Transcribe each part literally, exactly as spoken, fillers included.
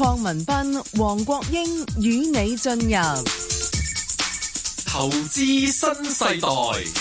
鄺民彬、黃國英與你進入投資新世代。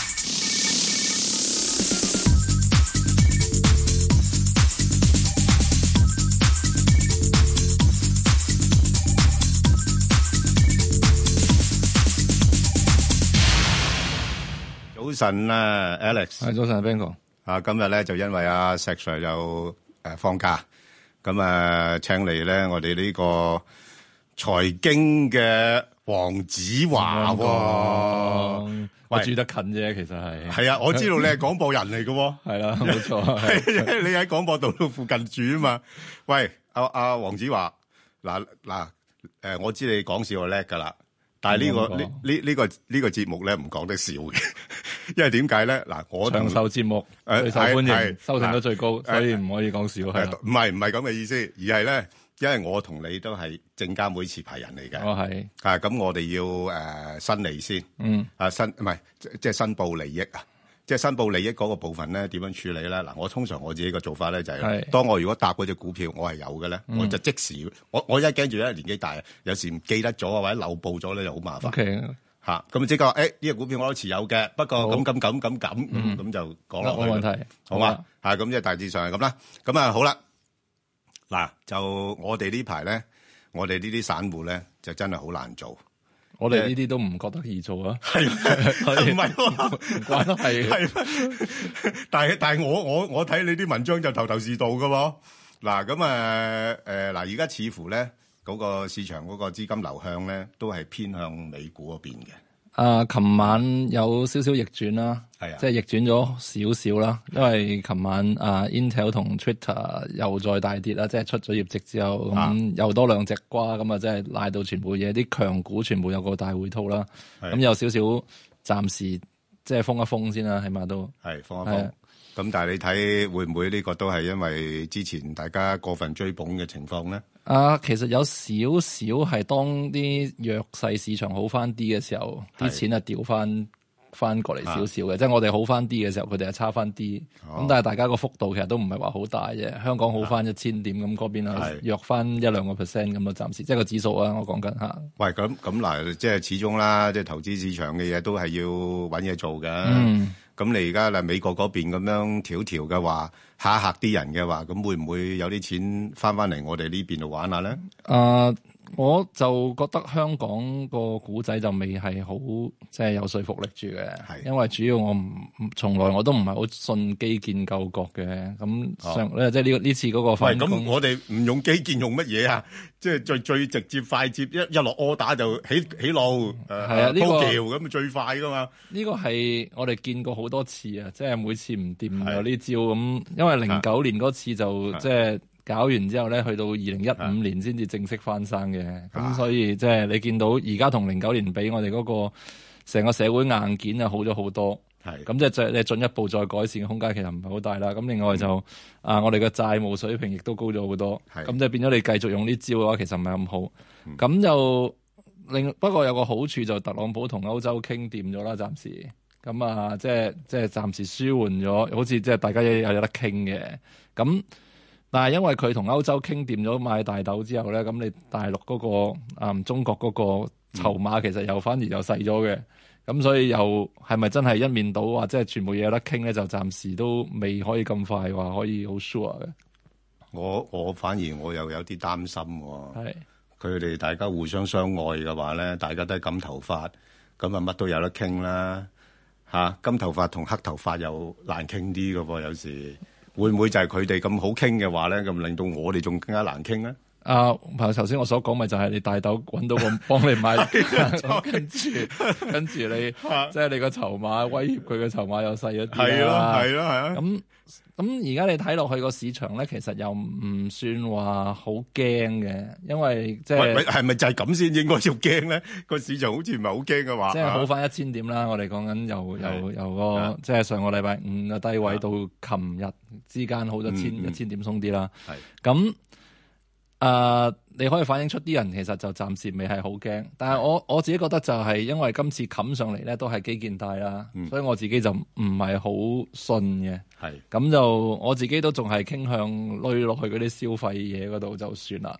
早晨啊 ，Alex。 係早晨 ，Ben 哥。 啊，今日咧就因為阿石 Sir 又誒放假，咁啊請嚟咧我哋呢個財經嘅黃子華喎。 我住得近啫，其實係。 係啊，我知道你係廣播人嚟嘅喎。 係啦，冇錯。 係你喺廣播道附近住啊嘛。喂，阿阿黃子華，嗱嗱誒，我知你講笑就叻㗎啦。但係呢個呢呢呢個呢個節目咧唔講得笑嘅，因為點解咧？嗱，我長壽節目最受歡迎，收聽率最高，所以唔可以講笑係。 唔係唔係咁嘅意思，而係咧，因為我同你都係證監會持牌人嚟嘅。 我係啊，咁我哋要誒申利先，嗯，啊申唔係即係申報利益啊。即係申報利益嗰個部分咧，點樣處理咧？嗱，我通常我自己個做法咧就係，當我如果搭嗰隻股票我係有嘅咧，我就即時，我我一驚住咧年紀大，有時唔記得咗啊，或者漏報咗咧就好麻煩。 OK， 嚇，咁即刻話，誒呢隻股票我都持有嘅，不過咁咁咁咁咁，咁就講落去。 冇問題， 好嘛？嚇，咁即係大致上係咁啦。咁啊好啦，嗱就我哋呢排咧，我哋呢啲散戶咧就真係好難做。 我哋呢啲都唔覺得易做啊， 係唔係？ 唔怪得係。 係，但係但係我我我睇你啲文章就頭頭是道噶喎。嗱咁啊誒嗱，而家似乎咧嗰個市場嗰個資金流向咧都係偏向美股嗰邊嘅。 啊，琴晚有少少逆轉啦，係啊，即係逆轉咗少少啦，因為琴晚啊 Intel 同 Twitter 又再大跌啦，即係出咗業績之後，咁、啊、又多兩隻瓜，咁啊即係賴到全部嘢，啲強股全部有個大回吐啦，咁有少少暫時即係封一封先啦，起碼都係封一封。咁但係你睇會唔會呢個都係因為之前大家過分追捧嘅情況咧？ 啊，其實有少少係當啲弱勢市場好翻啲嘅時候，啲錢啊調翻翻過嚟少少嘅，即係我哋好翻啲嘅時候，佢哋係差翻啲。咁、哦、但係大家個幅度其實都唔係話好大啫。香港好翻一千點，咁嗰邊啊弱翻一兩個 percent 咁咯，暫時即係個指數啊，我講緊嚇。喂， 咁咁嗱，即係始終啦，即係投資市場嘅嘢都係要揾嘢做嘅。 嗯。 咁你而家嗱美國嗰邊咁樣調調嘅話，嚇一嚇啲人嘅話，咁會唔會有啲錢翻翻嚟我哋呢邊度玩下咧？ 啊、uh，我就覺得香港個股仔就未係好即係有說服力住嘅，係因為主要我唔從來我都唔係好信基建救國嘅。咁上咧、哦、即係呢個呢次嗰個反攻。 咁我哋唔用基建用乜嘢啊？即係最最直接快捷，一一落柯打就起起路，誒、呃、 係啊，呢、這個鋪橋咁最快噶嘛。 呢、這個係我哋見過好多次啊，即係每次唔掂有呢招咁。因為零九年嗰次就即係搞完之後咧，去到二零一五年先至正式翻生嘅。咁所以即係你見到而家同零九年比，我哋嗰個成個社會硬件啊好咗好多。係咁即係再你進一步再改善嘅空間其實唔係好大啦。咁另外就、嗯、啊，我哋嘅債務水平亦都高咗好多。咁即係變咗你繼續用呢招嘅話，其實唔係咁好。咁、嗯、就另不過有個好處就特朗普同歐洲傾掂咗啦，暫時。咁啊，即係即係暫時舒緩咗，好似即係大家有有得傾嘅。咁但係因為佢同歐洲傾掂咗買大豆之後咧，咁你大陸嗰、嗰個啊、嗯、中國嗰個籌碼其實又反而又細咗嘅。咁、嗯、所以又係咪真係一面倒話即係全部嘢有得傾咧？就暫時都未可以咁快話可以好 sure 嘅。 我我反而我又有啲擔心喎。係佢哋大家互相相愛嘅話咧，大家都係金頭髮，咁啊乜都有得傾啦。嚇、啊，金頭髮同黑頭髮又難傾啲嘅噃，有時會唔會就係佢哋咁好傾嘅話咧，咁令到我哋仲更加難傾咧？ 啊，頭先我所講咪就係你大豆揾到個幫你買，跟住跟住你即係你個籌碼威脅佢嘅籌碼又細一啲啦。係咯，係咯，係啊。咁咁而家你睇落去個市場咧，其實又唔算話好驚嘅，因為即係係咪就係咁先應該要驚咧？個市場好似唔係好驚嘅話， 即係好翻一千點啦。我哋講緊由由由個即係上個禮拜五嘅低位到琴日之間好咗千一千點鬆啲啦。係咁。誒、uh，你可以反映出啲人其實就暫時未係好驚，但係我我自己覺得就係因為今次冚上嚟咧都係基建大啦、嗯，所以我自己就唔係好信嘅。係咁就我自己都仲係傾向累落去嗰啲消費嘢嗰度就算啦。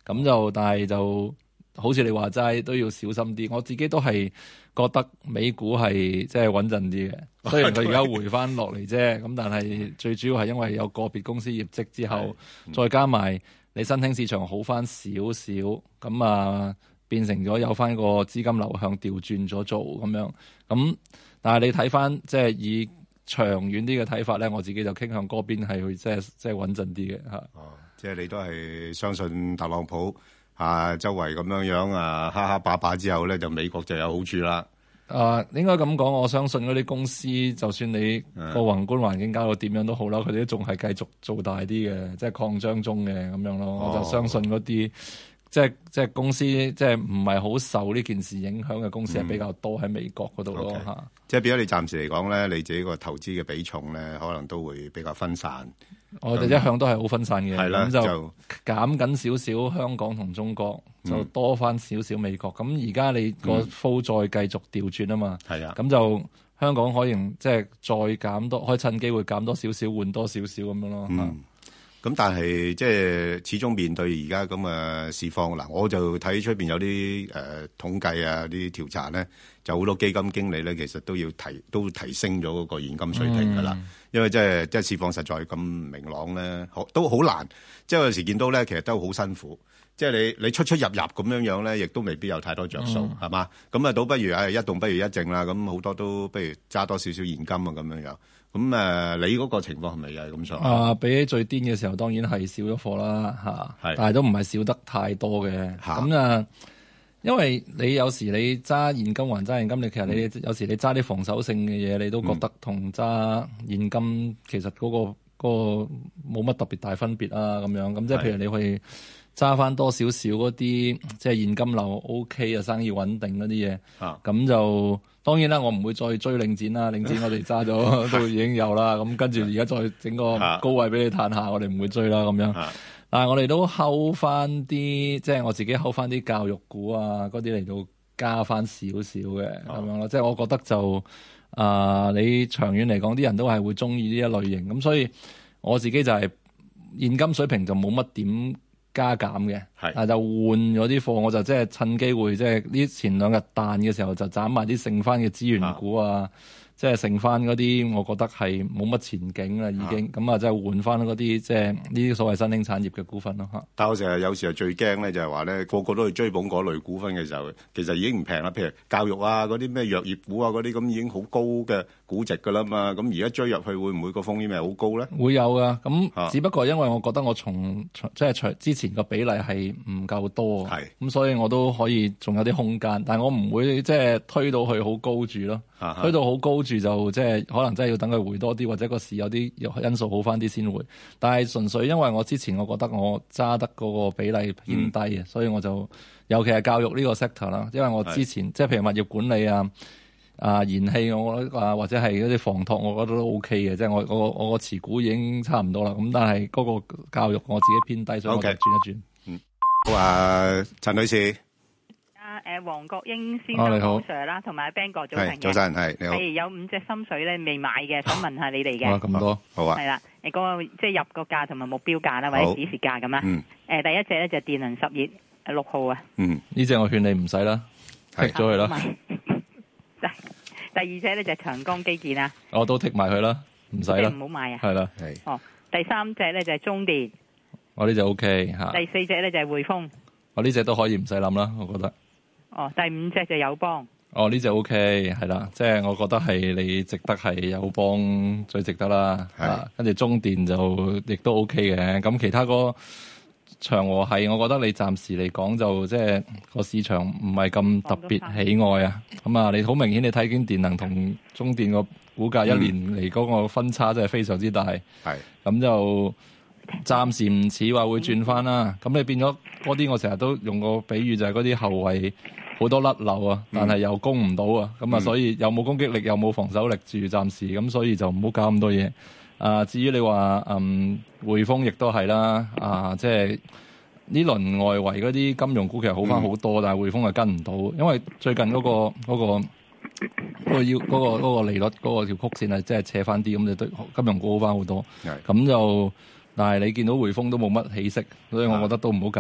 咁就但係就好似你話齋都要小心啲。我自己都係覺得美股係即係穩陣啲嘅，雖然佢而家回翻落嚟啫，咁但係最主要係因為有個別公司業績之後，再加埋你新興市場好翻少少，咁啊變成咗有翻個資金流向調轉咗做咁樣。咁但係你睇翻即係以長遠啲嘅睇法咧，我自己就傾向嗰邊係去即係即係穩陣啲嘅嚇。 哦，即係你都係相信特朗普啊，周圍咁樣樣啊，哈哈把把之後咧，就美國就有好處啦。 啊，應該咁講，我相信嗰啲公司，就算你個宏觀環境搞到點樣都好啦，佢哋都仲係繼續做大啲嘅，即係擴張中嘅咁樣咯。哦、我就相信嗰啲。即係即係公司，即係唔係好受呢件事影響嘅公司係比較多喺美國嗰度咯嚇。 Okay. 即係變咗你暫時嚟講咧，你自己個投資嘅比重咧，可能都會比較分散。 我哋一向都係好分散嘅，咁、嗯、就，就減緊少少香港同中國，就多翻少少美國。咁而家你個 flow 再繼續調轉啊嘛，係啊、嗯，咁就香港可以即係再減多，可以趁機會減多少少，換多少少咁樣咯嚇。嗯咁但係即係始終面對而家咁嘅市況嗱，我就睇出邊有啲誒、呃、統計啊，啲調查咧，就好多基金經理咧，其實都要提都提升咗嗰個現金水平噶啦、嗯，因為即係即係市況實在咁明朗咧，都好難。即係有時見到咧，其實都好辛苦。即係你你出出入入咁樣樣咧，亦都未必有太多着數，係、嗯、嘛？咁啊，倒不如係一動不如一靜啦。咁好多都不如揸多少少現金啊，咁樣樣。咁誒、呃，你嗰個情況係咪又係咁上下？啊， 比起最癲嘅時候，當然係少咗貨啦，嚇。但係都唔係少得太多嘅。咁啊，因為你有時你揸現金還揸現金，你其實你、嗯、有時你揸啲防守性嘅嘢，你都覺得同揸現金其實嗰、嗰個嗰個冇乜特別大分別啊，咁樣。咁即係譬如你去揸翻多少少嗰啲即係現金流 OK 啊，生意穩定嗰啲嘢，咁就當然啦，我唔會再追領展啦，領展我哋揸咗都已經有啦，咁跟住而家再整個高位俾你嘆下，我哋唔會追啦咁樣。但係我哋都睺翻啲，即係我自己睺翻啲教育股啊嗰啲嚟到加翻少少嘅咁樣咯。即係我覺得就啊、呃，你長遠嚟講，啲人都係會中意呢一類型，咁所以我自己就係現金水平就冇乜點加減嘅，但就換咗啲貨，我就即係趁機會，即係呢前兩日彈嘅時候就斬埋啲剩翻嘅資源股啊，即係剩翻嗰啲，我覺得係冇乜前景啦，已經咁啊，即係換翻嗰啲即係呢啲所謂新興產業嘅股份咯嚇。但係我成日有時係最驚咧，就係話咧個個都去追捧嗰類股份嘅時候，其實已經唔平啦。譬如教育啊，嗰啲咩藥業股啊，嗰啲咁已經好高嘅估值㗎啦嘛。咁而家追入去會唔會個風險係好高咧？會有㗎。咁只不過因為我覺得我從即係從之前個比例係唔夠多，係咁所以我都可以仲有啲空間，但係我唔會即係推到去好高住咯。推到好高住就即係可能真係要等佢回多啲，或者個市有啲因素好翻啲先回。但係純粹因為我之前我覺得我揸得嗰個比例偏低嘅、嗯，所以我就尤其係教育呢個 sector 啦。因為我之前即係譬如物業管理啊、啊燃氣我覺得啊或者係嗰啲房託，我覺得都 OK 嘅。即係我我我個持股已經差唔多啦。咁但係嗰個教育我自己偏低，所以我就轉一轉。嗯， 好啊，陳女士。 誒黃國英先生好 Sir 啦，同埋 Ben 哥早晨嘅。早晨係你好。係有五隻心水咧未買嘅，想問下你哋嘅。 哇咁多，好啊。 係啦，誒嗰個即係入個價同埋目標價啦，或者指示價咁啦。嗯。誒第一隻咧就係電能實業誒六號啊。 嗯，呢隻我勸你唔使啦，剔咗佢啦。 第二隻咧就係長江基建啊。 我都剔埋佢啦，唔使啦。 唔好買啊。 係啦。 係。哦，第三隻咧就係中電。 我呢隻 OK 嚇。 第四隻咧就係匯豐。 我呢隻都可以唔使諗啦，我覺得。 哦，第五隻就友邦。 哦，呢隻 OK 係啦，即係我覺得係你值得係友邦最值得啦。係，跟住中電就亦都 OK 嘅。咁其他個長和係，我覺得你暫時嚟講就即係個市場唔係咁特別喜愛啊。咁啊，你好明顯你睇見電能同中電個股價一年嚟嗰個分差真係非常之大。係、嗯，咁就暫時唔似話會轉翻啦。咁、嗯、你變咗嗰啲，我成日都用個比喻就係嗰啲後衞。好多甩漏啊，但係又攻唔到啊，咁、嗯、啊，所以又冇攻擊力，又冇防守力住，暫時咁，所以就唔好搞咁多嘢。啊，至於你話嗯匯豐亦都係啦，啊，即係呢輪外圍嗰啲金融股其實好翻好多，嗯、但係匯豐係跟唔到，因為最近嗰、嗰個嗰、嗰個嗰、嗰個要嗰、嗰個嗰個利率嗰、嗰個條曲線係即係斜翻啲，咁就對金融股好翻好多。咁就但係你見到匯豐都冇乜起色，所以我覺得都唔好搞。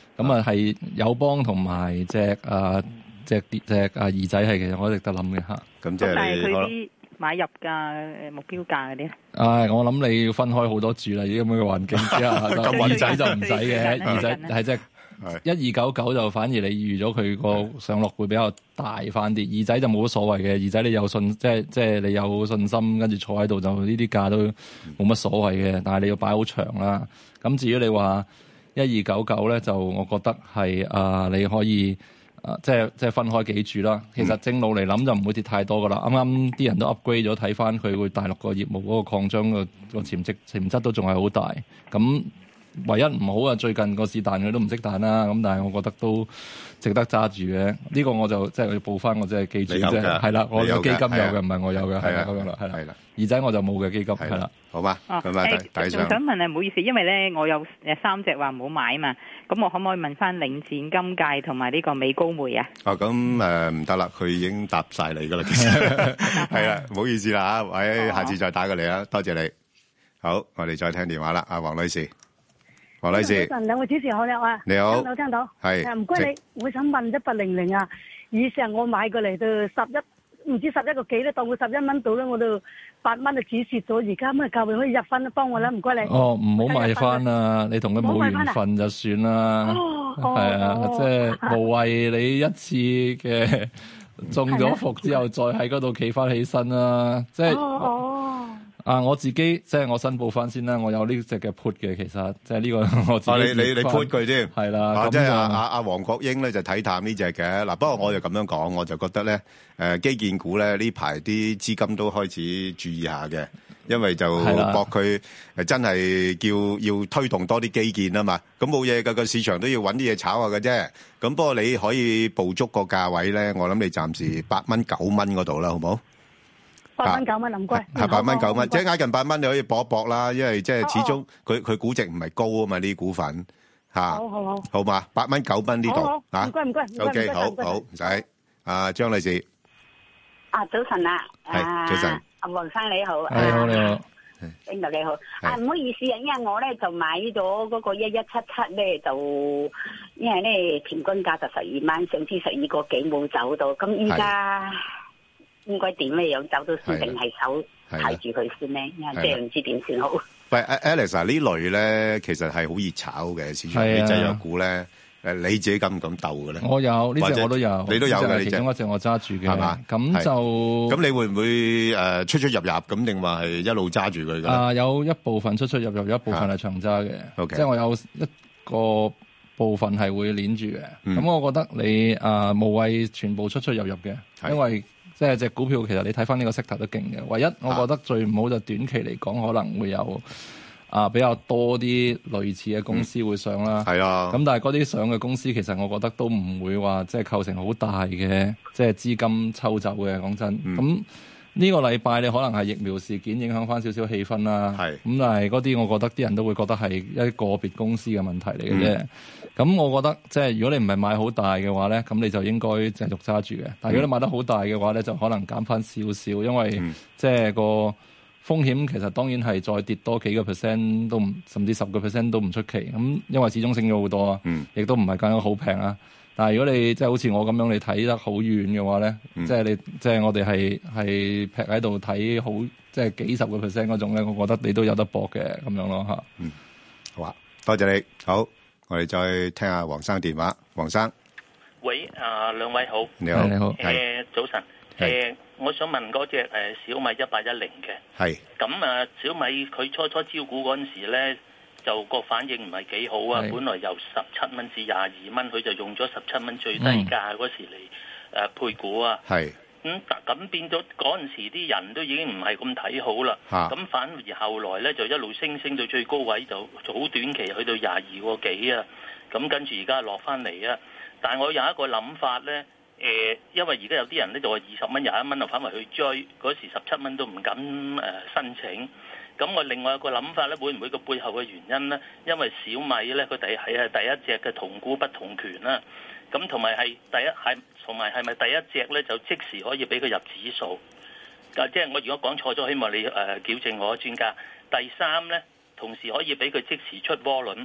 咁啊係友邦同埋隻啊隻隻啊二仔係其實我值得諗嘅嚇。 咁即係你佢啲買入價目標價嗰啲。 唉，我諗你要分開好多注啦，依咁嘅環境之下，二仔就唔使嘅，二仔係即係一二九九就反而你預咗佢個上落會比較大翻啲，二仔就冇乜所謂嘅，二仔你有信即係即係你有信心，跟住坐喺度就呢啲價都冇乜所謂嘅，但係你要擺好長啦。咁至於你話一二九九咧，就我覺得係啊、呃，你可以啊、呃，即係即係分開幾注啦。其實正路嚟諗就唔會跌太多噶啦。啱啱啲人都 upgrade 咗，睇翻佢會大陸個業務嗰個擴張個個潛質潛質都仲係好大。咁唯一唔好啊，最近個市彈佢都唔識彈啦。咁但係我覺得都值得揸住嘅。呢、這個我就即係要報翻，我即係記住啫。係啦，我嘅基金有嘅，唔係我有嘅。係啦，咁樣啦，係啦。二仔我就冇嘅基金，係啦。 好嘛？咁啊， 誒，仲想問啊，唔好意思，因為咧我有誒三隻話唔好買啊嘛。咁我可唔可以問翻領展、金界同埋呢個美高梅啊？ 哦，咁誒唔得啦，佢已經答晒你噶啦，其實係啦，唔好意思啦嚇，喂，下次再打過嚟啦，多謝你。好，我哋再聽電話啦，阿黃女士。黃女士， 早晨，兩位主持好啦，啊， 你好， 聽到聽到， 係， 唔該你，我想問一八零零啊，以上我買過嚟到十一，唔知十一個幾咧，當佢十一蚊到咧，我都八蚊就止蝕咗，而家咩價位可以入翻咧？幫我啦，唔該你。 哦，唔好買翻啦，你同佢冇緣分就算啦，係啊，即係無謂你一次嘅中咗伏之後，再喺嗰度企翻起身啦，即係。啊！我自己即係我申報翻先啦，我有呢隻嘅 put 嘅，其實即係呢個我自己。 啊！你你你 put 佢添， 係啦。 啊，即係阿阿阿黃國英咧就睇淡呢隻嘅。嗱，不過我就咁樣講，我就覺得咧，誒、呃、基建股咧呢排啲資金都開始注意下嘅，因為就博佢誒真係叫要推動多啲基建啊嘛。咁冇嘢㗎，個市場都要揾啲嘢炒下嘅啫。咁不過你可以捕捉個價位咧，我諗你暫時八蚊九蚊嗰度啦，好唔好？ 八蚊九蚊唔該， 係八蚊九蚊，即係挨近八蚊你可以搏一搏啦，因為即係始終佢佢估值唔係高啊嘛，呢啲股份嚇。好好好，好嘛，八蚊九蚊呢度嚇。唔該唔該唔該。O K，好好唔使。阿張女士， 啊早晨啊， 係早晨。 阿黃生你好， 你好你好， 邊度你好？啊唔好意思啊，因為我咧就買咗嗰個一一七七咧，就因為咧平均價就十二蚊，上次十二個幾冇走到，咁依家。應該點咧樣走到先，定係手睇住佢先咧？即係唔知點算好。 喂，Alex 啊，呢類咧其實係好熱炒嘅市場啲製藥股咧。誒，你自己敢唔敢鬥嘅咧？我有呢隻我都有，你都有嘅。其中一隻我揸住嘅，係嘛？咁就咁你會唔會誒出出入入咁，定話係一路揸住佢嘅？啊，有一部分出出入入，有一部分係長揸嘅。即係我有一個部分係會鏈住嘅。咁我覺得你啊無謂全部出出入入嘅，因為即係隻股票，其實你睇翻呢個息頭都勁嘅。唯一我覺得最唔好就短期嚟講，可能會有啊比較多啲類似嘅公司會上啦。係、嗯、啊。咁但係嗰啲上嘅公司，其實我覺得都唔會話即係構成好大嘅即係資金抽走嘅。講真，咁、嗯、呢個禮拜你可能係疫苗事件影響翻少少氣氛啦。係。咁但係嗰啲，我覺得啲人都會覺得係一個別公司嘅問題嚟嘅啫。嗯咁我覺得即係如果你唔係買好大嘅話咧，咁你就應該繼續揸住嘅。但係如果你買得好大嘅話咧，就可能減翻少少，因為、嗯、即係個風險其實當然係再跌多幾個 percent 都唔，甚至十個 percent 都唔出奇。咁因為始終升咗好多啊，亦、嗯、都唔係講緊好平啊。但係如果你即係好似我咁樣，你睇得好遠嘅話咧、嗯，即係你即係我哋係係劈喺度睇好，即係幾十個 percent 嗰種咧，我覺得你都有得搏嘅咁樣咯嚇。嗯，好啊，多謝你，好。我哋再聽下黃生電話。黃生， 喂，啊兩位好， 你好，你好， 誒、呃、早晨，誒、呃、我想問嗰隻誒小米一八一零嘅，係，咁啊小米佢初初招股嗰陣時咧，就個反應唔係幾好啊，本來由十七蚊至廿二蚊，佢就用咗十七蚊最低價嗰時嚟誒、嗯呃、配股啊，係。咁咁變咗嗰陣時啲人都已經唔係咁睇好啦，咁反而後來咧就一路升升到最高位，就好短期去到廿二個幾啊，咁跟住而家落翻嚟啊。但係我有一個諗法咧，誒、呃，因為而家有啲人咧就話二十蚊廿一蚊就反為去追，嗰時十七蚊都唔敢誒、呃、申請。咁我另外一個諗法咧，會唔會個背後嘅原因咧？因為小米咧佢第係係第一隻嘅同股不同權啦，咁同埋係第一係。同埋係咪第一隻咧就即時可以俾佢入指數？啊，即係我如果講錯咗，希望你誒、呃、矯正我，專家。第三咧，同時可以俾佢即時出窩輪。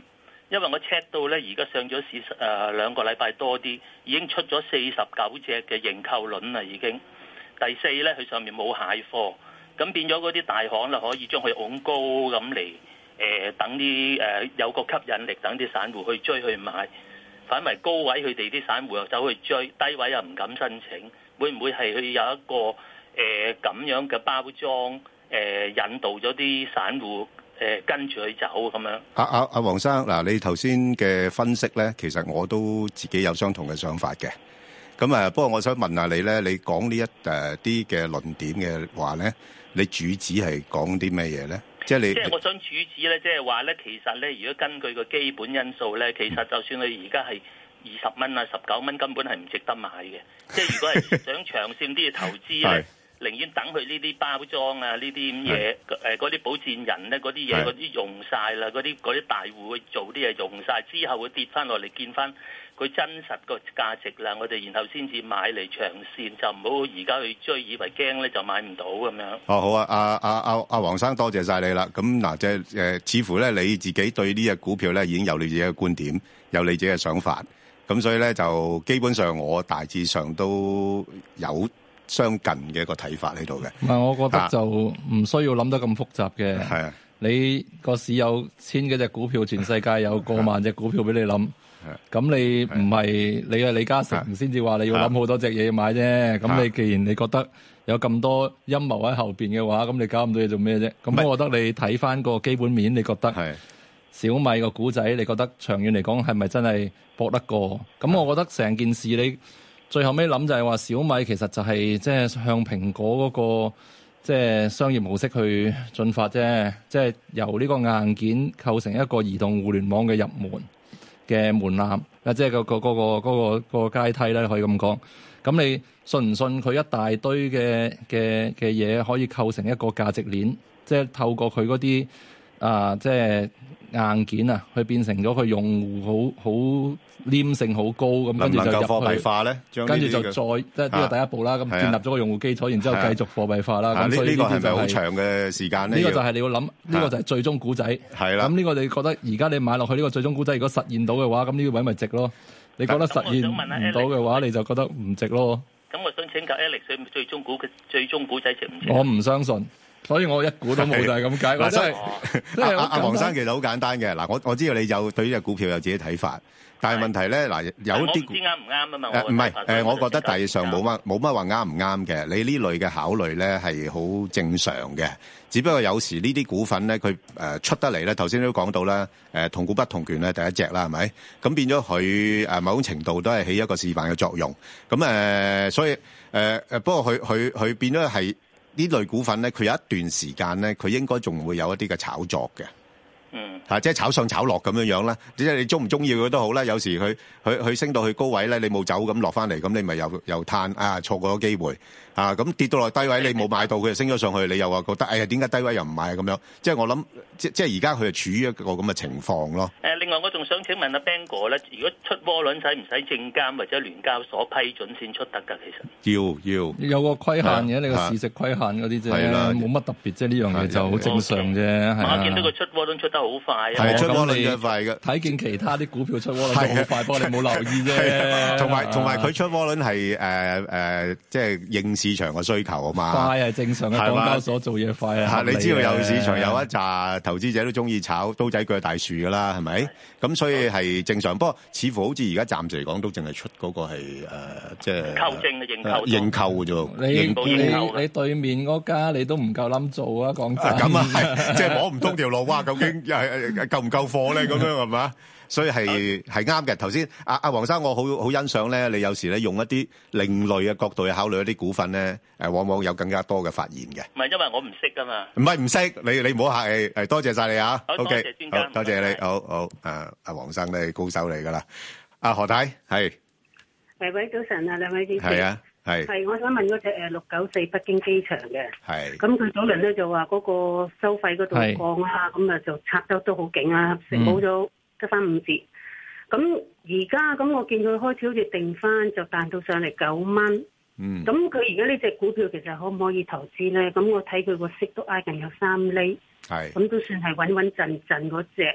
因為我 check 到咧，而家上咗市誒、呃、兩個禮拜多啲，已經出咗四十九隻嘅認購輪啦，已經。第四咧，佢上面冇蟹貨，咁變咗嗰啲大行啦，可以將佢拱高咁嚟誒，等啲誒、呃、有個吸引力，等啲散戶去追去買。反為高位佢哋啲散戶又走去追，低位又唔敢申請，會唔會係佢有一個誒咁、呃、樣嘅包裝誒、呃、引導咗啲散戶誒、呃、跟住去走咁樣？ 阿阿阿黃生嗱，你頭先嘅分析咧，其實我都自己有相同嘅想法嘅。咁啊，不過我想問下你咧，你講呢一誒啲嘅論點嘅話咧，你主旨係講啲咩嘢咧？即係你，即係我想主旨咧，即係話咧，其實咧，如果根據個基本因素咧，其實就算佢而家係二十蚊啊、十九蚊，根本係唔值得買嘅。即係如果係想長線啲嘅投資咧，寧願等佢呢啲包裝啊、呢啲咁嘢，誒嗰啲保薦人咧，嗰啲嘢嗰啲用晒啦，嗰啲嗰啲大戶去做啲嘢用晒之後，會跌翻落嚟見翻佢真實個價值啦，我哋然後先至買嚟長線，就唔好而家去追，以為驚咧就買唔到咁樣。 哦，好啊，阿阿阿阿黃生，多謝晒你啦。咁嗱，即係誒，似乎咧你自己對呢隻股票咧已經有你自己嘅觀點，有你自己嘅想法。咁所以咧就基本上我大致上都有相近嘅一個睇法喺度嘅。 唔係，我覺得就唔需要諗得咁複雜嘅。係啊，你個市有千幾隻股票，全世界有過萬隻股票俾你諗。咁你唔係你係李嘉誠先至話你要諗好多隻嘢買啫。咁你既然你覺得有咁多陰謀喺後邊嘅話，咁你搞咁多嘢做咩啫？咁我覺得你睇翻個基本面，你覺得小米個股仔，你覺得長遠嚟講係咪真係搏得過？咁我覺得成件事你最後尾諗就係話小米其實就係即係向蘋果嗰個即係商業模式去進發啫，即係由呢個硬件構成一個移動互聯網嘅入門嘅門檻，啊，即係個個嗰個嗰個個階梯咧，可以咁講。咁你信唔信佢一大堆嘅嘅嘅嘢可以構成一個價值鏈？即係透過佢嗰啲啊，即係硬件啊，去變成咗佢用戶好好黏性好高，咁跟住就入去。能夠貨幣化咧？跟住就再即係呢個第一步啦。咁建立咗個用戶基礎，然之後繼續貨幣化啦。咁所以呢個係咪好長嘅時間咧？呢個就係你要諗，呢個就係最終股仔。係啦。咁呢個你覺得而家你買落去呢個最終股仔，如果實現到嘅話，咁呢個位咪值咯？你覺得實現唔到嘅話，你就覺得唔值咯。 咁我想請教 Alex，最終股嘅最終股仔值唔值？ 我唔相信。所以我一股都冇就係咁解。嗱，真係阿阿黃生其實好簡單嘅。嗱，我我知道你有對呢隻股票有自己睇法，但係問題咧，嗱有啲唔知啱唔啱啊嘛。 誒唔係誒，我覺得大致上冇乜冇乜話啱唔啱嘅。你呢類嘅考慮咧係好正常嘅，只不過有時呢啲股份咧，佢誒出得嚟咧，頭先都講到啦，誒同股不同權咧，第一隻啦，係咪？咁變咗佢誒某種程度都係起一個示範嘅作用。咁誒，所以誒誒，不過佢佢佢變咗係。呢類股份咧，佢有一段時間咧，佢應該仲會有一啲嘅炒作嘅，嗯，嚇、啊，即係炒上炒落咁樣樣啦。即係你中唔中意佢都好啦。有時佢佢佢升到去高位咧，你冇走咁落翻嚟，咁你咪又又嘆啊，錯過咗機會啊！咁跌到落低位，你冇買到，佢就升咗上去，你又話覺得哎呀，點解低位又唔買咁樣？即係我諗，即即係而家佢係處於一個咁嘅情況咯。誒， 另外我仲想請問阿 Ben 哥咧，如果出窩輪使唔使證監或者聯交所批准先出得㗎？其實要要有個規限嘅，你個市值規限嗰啲啫，冇乜特別，即係呢樣嘢就好正常啫。 我見到佢出窩輪出得好快， 係出窩輪快嘅。 睇見其他啲股票出窩輪都好快，不過你冇留意啫。 同埋同埋佢出窩輪係誒誒，即係應市場嘅需求啊嘛。 快係正常嘅，港交所做嘢快啊。 你知道有市場有一紮投資者都中意炒刀仔鋸大樹噶啦，係咪？咁所以係正常。不過似乎好似而家暫時嚟講，都淨係出嗰個係誒，即係購證嘅認購， 認購嘅啫。 你你你對面嗰家你都唔夠諗做啊！講真， 咁啊係，即係摸唔通條路，哇！究竟又係夠唔夠貨咧？咁樣係嘛？所以係係啱嘅。頭先阿阿黃生，我好好欣賞咧，你有時咧用一啲另類嘅角度去考慮一啲股份咧，誒往往有更加多嘅發現嘅。 唔係因為我唔識噶嘛。 唔係唔識，你你唔好客氣。誒多謝曬你啊。 好，多謝專家。 好，多謝你。好好誒，阿黃生咧高手嚟㗎啦。阿何太係。 誒喂，早晨啊，兩位主持。 係啊，係。 係，我想問嗰隻誒六九四北京機場嘅。 係。 咁佢早輪咧就話嗰個收費嗰度降啦，咁啊就拆得都好勁啊，成冇咗得翻五折。咁而家咁我見佢開始好似定翻，就彈到上嚟九蚊。嗯。咁佢而家呢隻股票其實可唔可以投資咧？咁我睇佢個息都挨近有三厘。係。咁都算係穩穩陣陣嗰隻。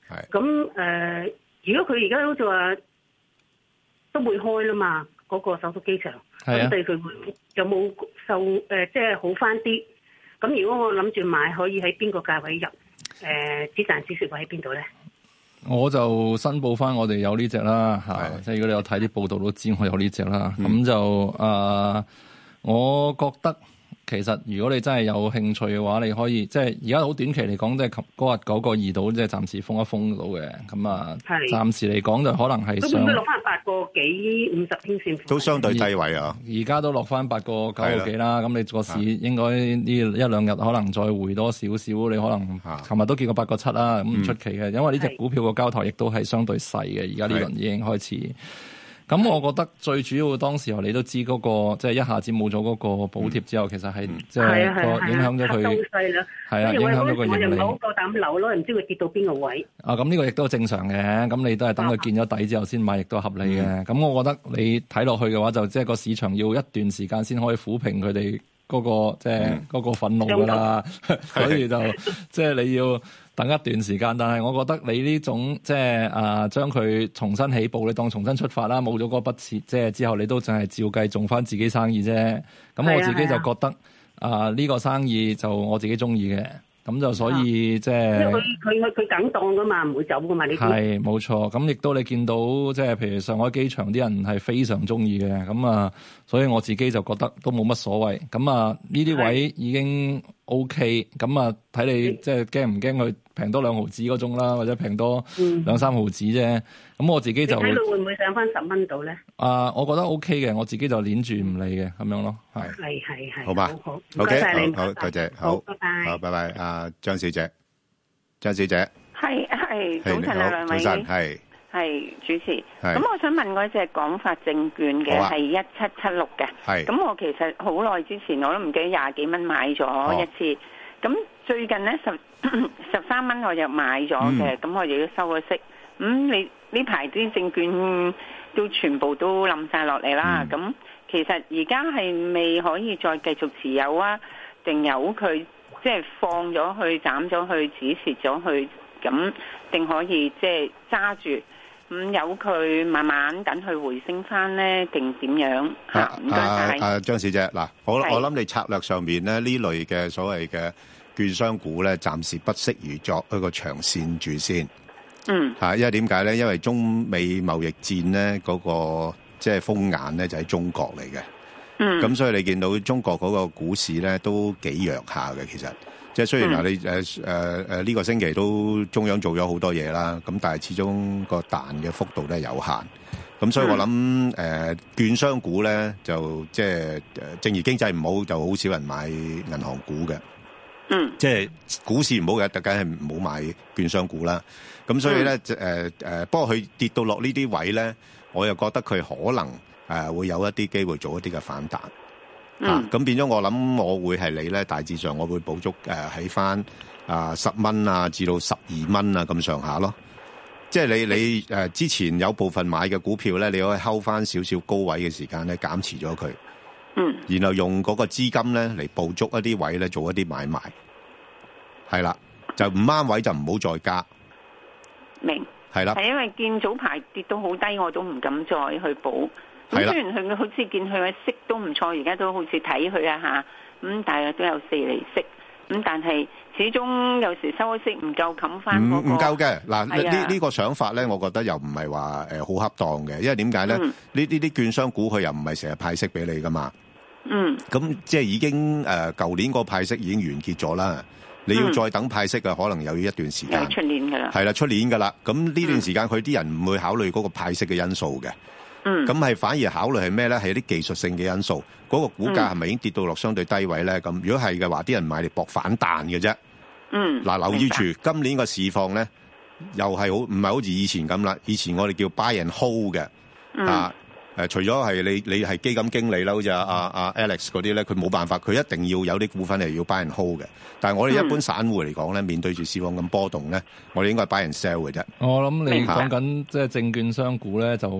係。 咁誒、呃，如果佢而家好似話都會開啦嘛，嗰、那個首都機場，咁對佢會有冇受誒、呃，即係好翻啲？咁如果我諗住買，可以喺邊個價位入？誒、呃，止賺止蝕位喺邊度咧？ 我就申報翻我哋有呢隻啦，嚇！即係如果你有睇啲報道都知我有呢隻啦。咁、嗯、就誒、呃，我覺得。其實如果你真係有興趣嘅話，你可以即係而家好短期嚟講，即係嗰日九個二度，即係暫時封一封到嘅。咁啊，暫時嚟講就可能係上。都落翻八個幾五十天線。 都相對低位啊！ 而家都落翻八個九個幾啦。咁你個市應該呢一兩日可能再回多少少。你可能尋日都見過八個七啦，咁唔出奇嘅。因為呢隻股票個交投亦都係相對細嘅。而家呢輪已經開始。咁我覺得最主要當時候你都知嗰、那個即係、就是、一下子冇咗嗰個補貼之後，嗯、其實係即係個影響咗佢係啊，影響咗個盈利。我又唔好夠膽扭咯，唔知佢跌到邊個位。啊，咁呢個亦都正常嘅。咁你都係等佢見咗底之後先買，亦都合理嘅。咁、嗯、我覺得你睇落去嘅話，就即係個市場要一段時間先可以撫平佢哋嗰個即係嗰個憤怒㗎啦。所以就即係、就是、你要。等一段時間，但係我覺得你呢種即係啊，將佢重新起步，你當重新出發啦，冇咗嗰筆錢，即係之後你都淨係照計做翻自己生意啫。咁我自己就覺得啊，呢、啊呢個生意就我自己中意嘅，咁就所以、啊、即係。因為佢佢佢梗當噶嘛，唔會走噶嘛呢啲。係冇錯，咁亦都你見到即係譬如上海機場啲人係非常中意嘅，咁啊，所以我自己就覺得都冇乜所謂。咁啊，呢啲位已經 OK，咁啊睇你即係驚唔驚佢？平多兩毫子嗰種啦，或者平多兩三毫子啫。咁、嗯、我自己就睇到會唔會上翻十蚊度咧？啊，我覺得 OK 嘅，我自己就攣住唔理嘅咁樣咯。係係係係。 好吧，好，唔該晒你，好多謝，好， 拜拜， 好，拜拜。阿張小姐，張小姐， 係係，早晨啊，兩位， 早晨，係係主持。咁我想問嗰隻廣發證券嘅係一七七六嘅，係。咁我其實好耐之前我都唔記得廿幾蚊買咗一次，咁、哦、最近咧十。十三蚊我又買咗嘅，咁、嗯、我亦都收咗息。咁、嗯、你呢排啲證券都全部都冧晒落嚟啦。咁、嗯、其實而家係未可以再繼續持有啊？定由佢即係放咗去、斬咗去、止蝕咗去，咁定可以即係揸住？咁由佢慢慢等佢回升翻咧，定點樣？嚇唔該晒。 啊張小姐，嗱，我我諗你策略上面咧呢類嘅所謂嘅。券商股咧，暫時不適宜作一個長線住先。嗯，嚇，因為點解咧？因為中美貿易戰咧，嗰個即係風眼咧，就喺中國嚟嘅。嗯，咁所以你見到中國嗰個股市咧，都幾弱下嘅。其實，即係雖然話你誒誒誒呢個星期都中央做咗好多嘢啦，咁但係始終個彈嘅幅度都係有限。咁所以我諗誒券商股咧，就即係誒正如經濟唔好，就好少人買銀行股嘅。嗯，即係股市唔好嘅，特梗係唔好買券商股啦。咁所以咧，誒、嗯、誒、呃，不過佢跌到落呢啲位咧，我又覺得佢可能誒、呃、會有一啲機會做一啲嘅反彈。嗯，咁、啊、變咗我諗，我會係你咧，大致上我會補足誒喺翻啊十蚊啊至到十二蚊啊咁上下咯。即係你你誒、呃、之前有部分買嘅股票咧，你可以睺翻少少高位嘅時間咧，減持咗佢。嗯，然後用嗰個資金咧嚟捕捉一啲位咧，做一啲買賣，係啦，就唔啱位就唔好再加。 明係啦， 係因為見早排跌到好低，我都唔敢再去補。咁雖然佢好似見佢嘅息都唔錯，而家都好似睇佢啊吓，咁大約都有四厘息。咁但係始終有時收息唔夠冚翻嗰個。唔唔夠嘅嗱，呢呢、呢個想法咧，我覺得又唔係話誒好恰當嘅，因為點解咧？呢呢啲券商股佢又唔係成日派息俾你噶嘛。嗯，咁即係已經誒，舊、呃、年個派息已經完結咗啦。你要再等派息嘅，可能又要一段時間。係出年噶啦。係啦，出年噶啦。咁呢段時間佢啲人唔會考慮嗰個派息嘅因素嘅。嗯。咁係反而考慮係咩咧？係啲技術性嘅因素。嗰、嗰個股價係咪已經跌到落相對低位咧？咁、嗯、如果係嘅話，啲人買嚟搏反彈嘅啫。嗯。嗱，留意住今年個市況咧，又係好唔係好似以前咁啦。以前我哋叫 buy and hold 嘅。嗯。啊誒、呃，除咗係你你係基金經理啦，好似阿阿阿 Alex 嗰啲咧，佢冇辦法，佢一定要有啲股份係要 buy and hold 嘅。但係我哋一般散戶嚟講咧，面對住市況咁波動咧，我哋應該係 buy and sell 嘅啫。 我諗你講緊即係證券商股咧，就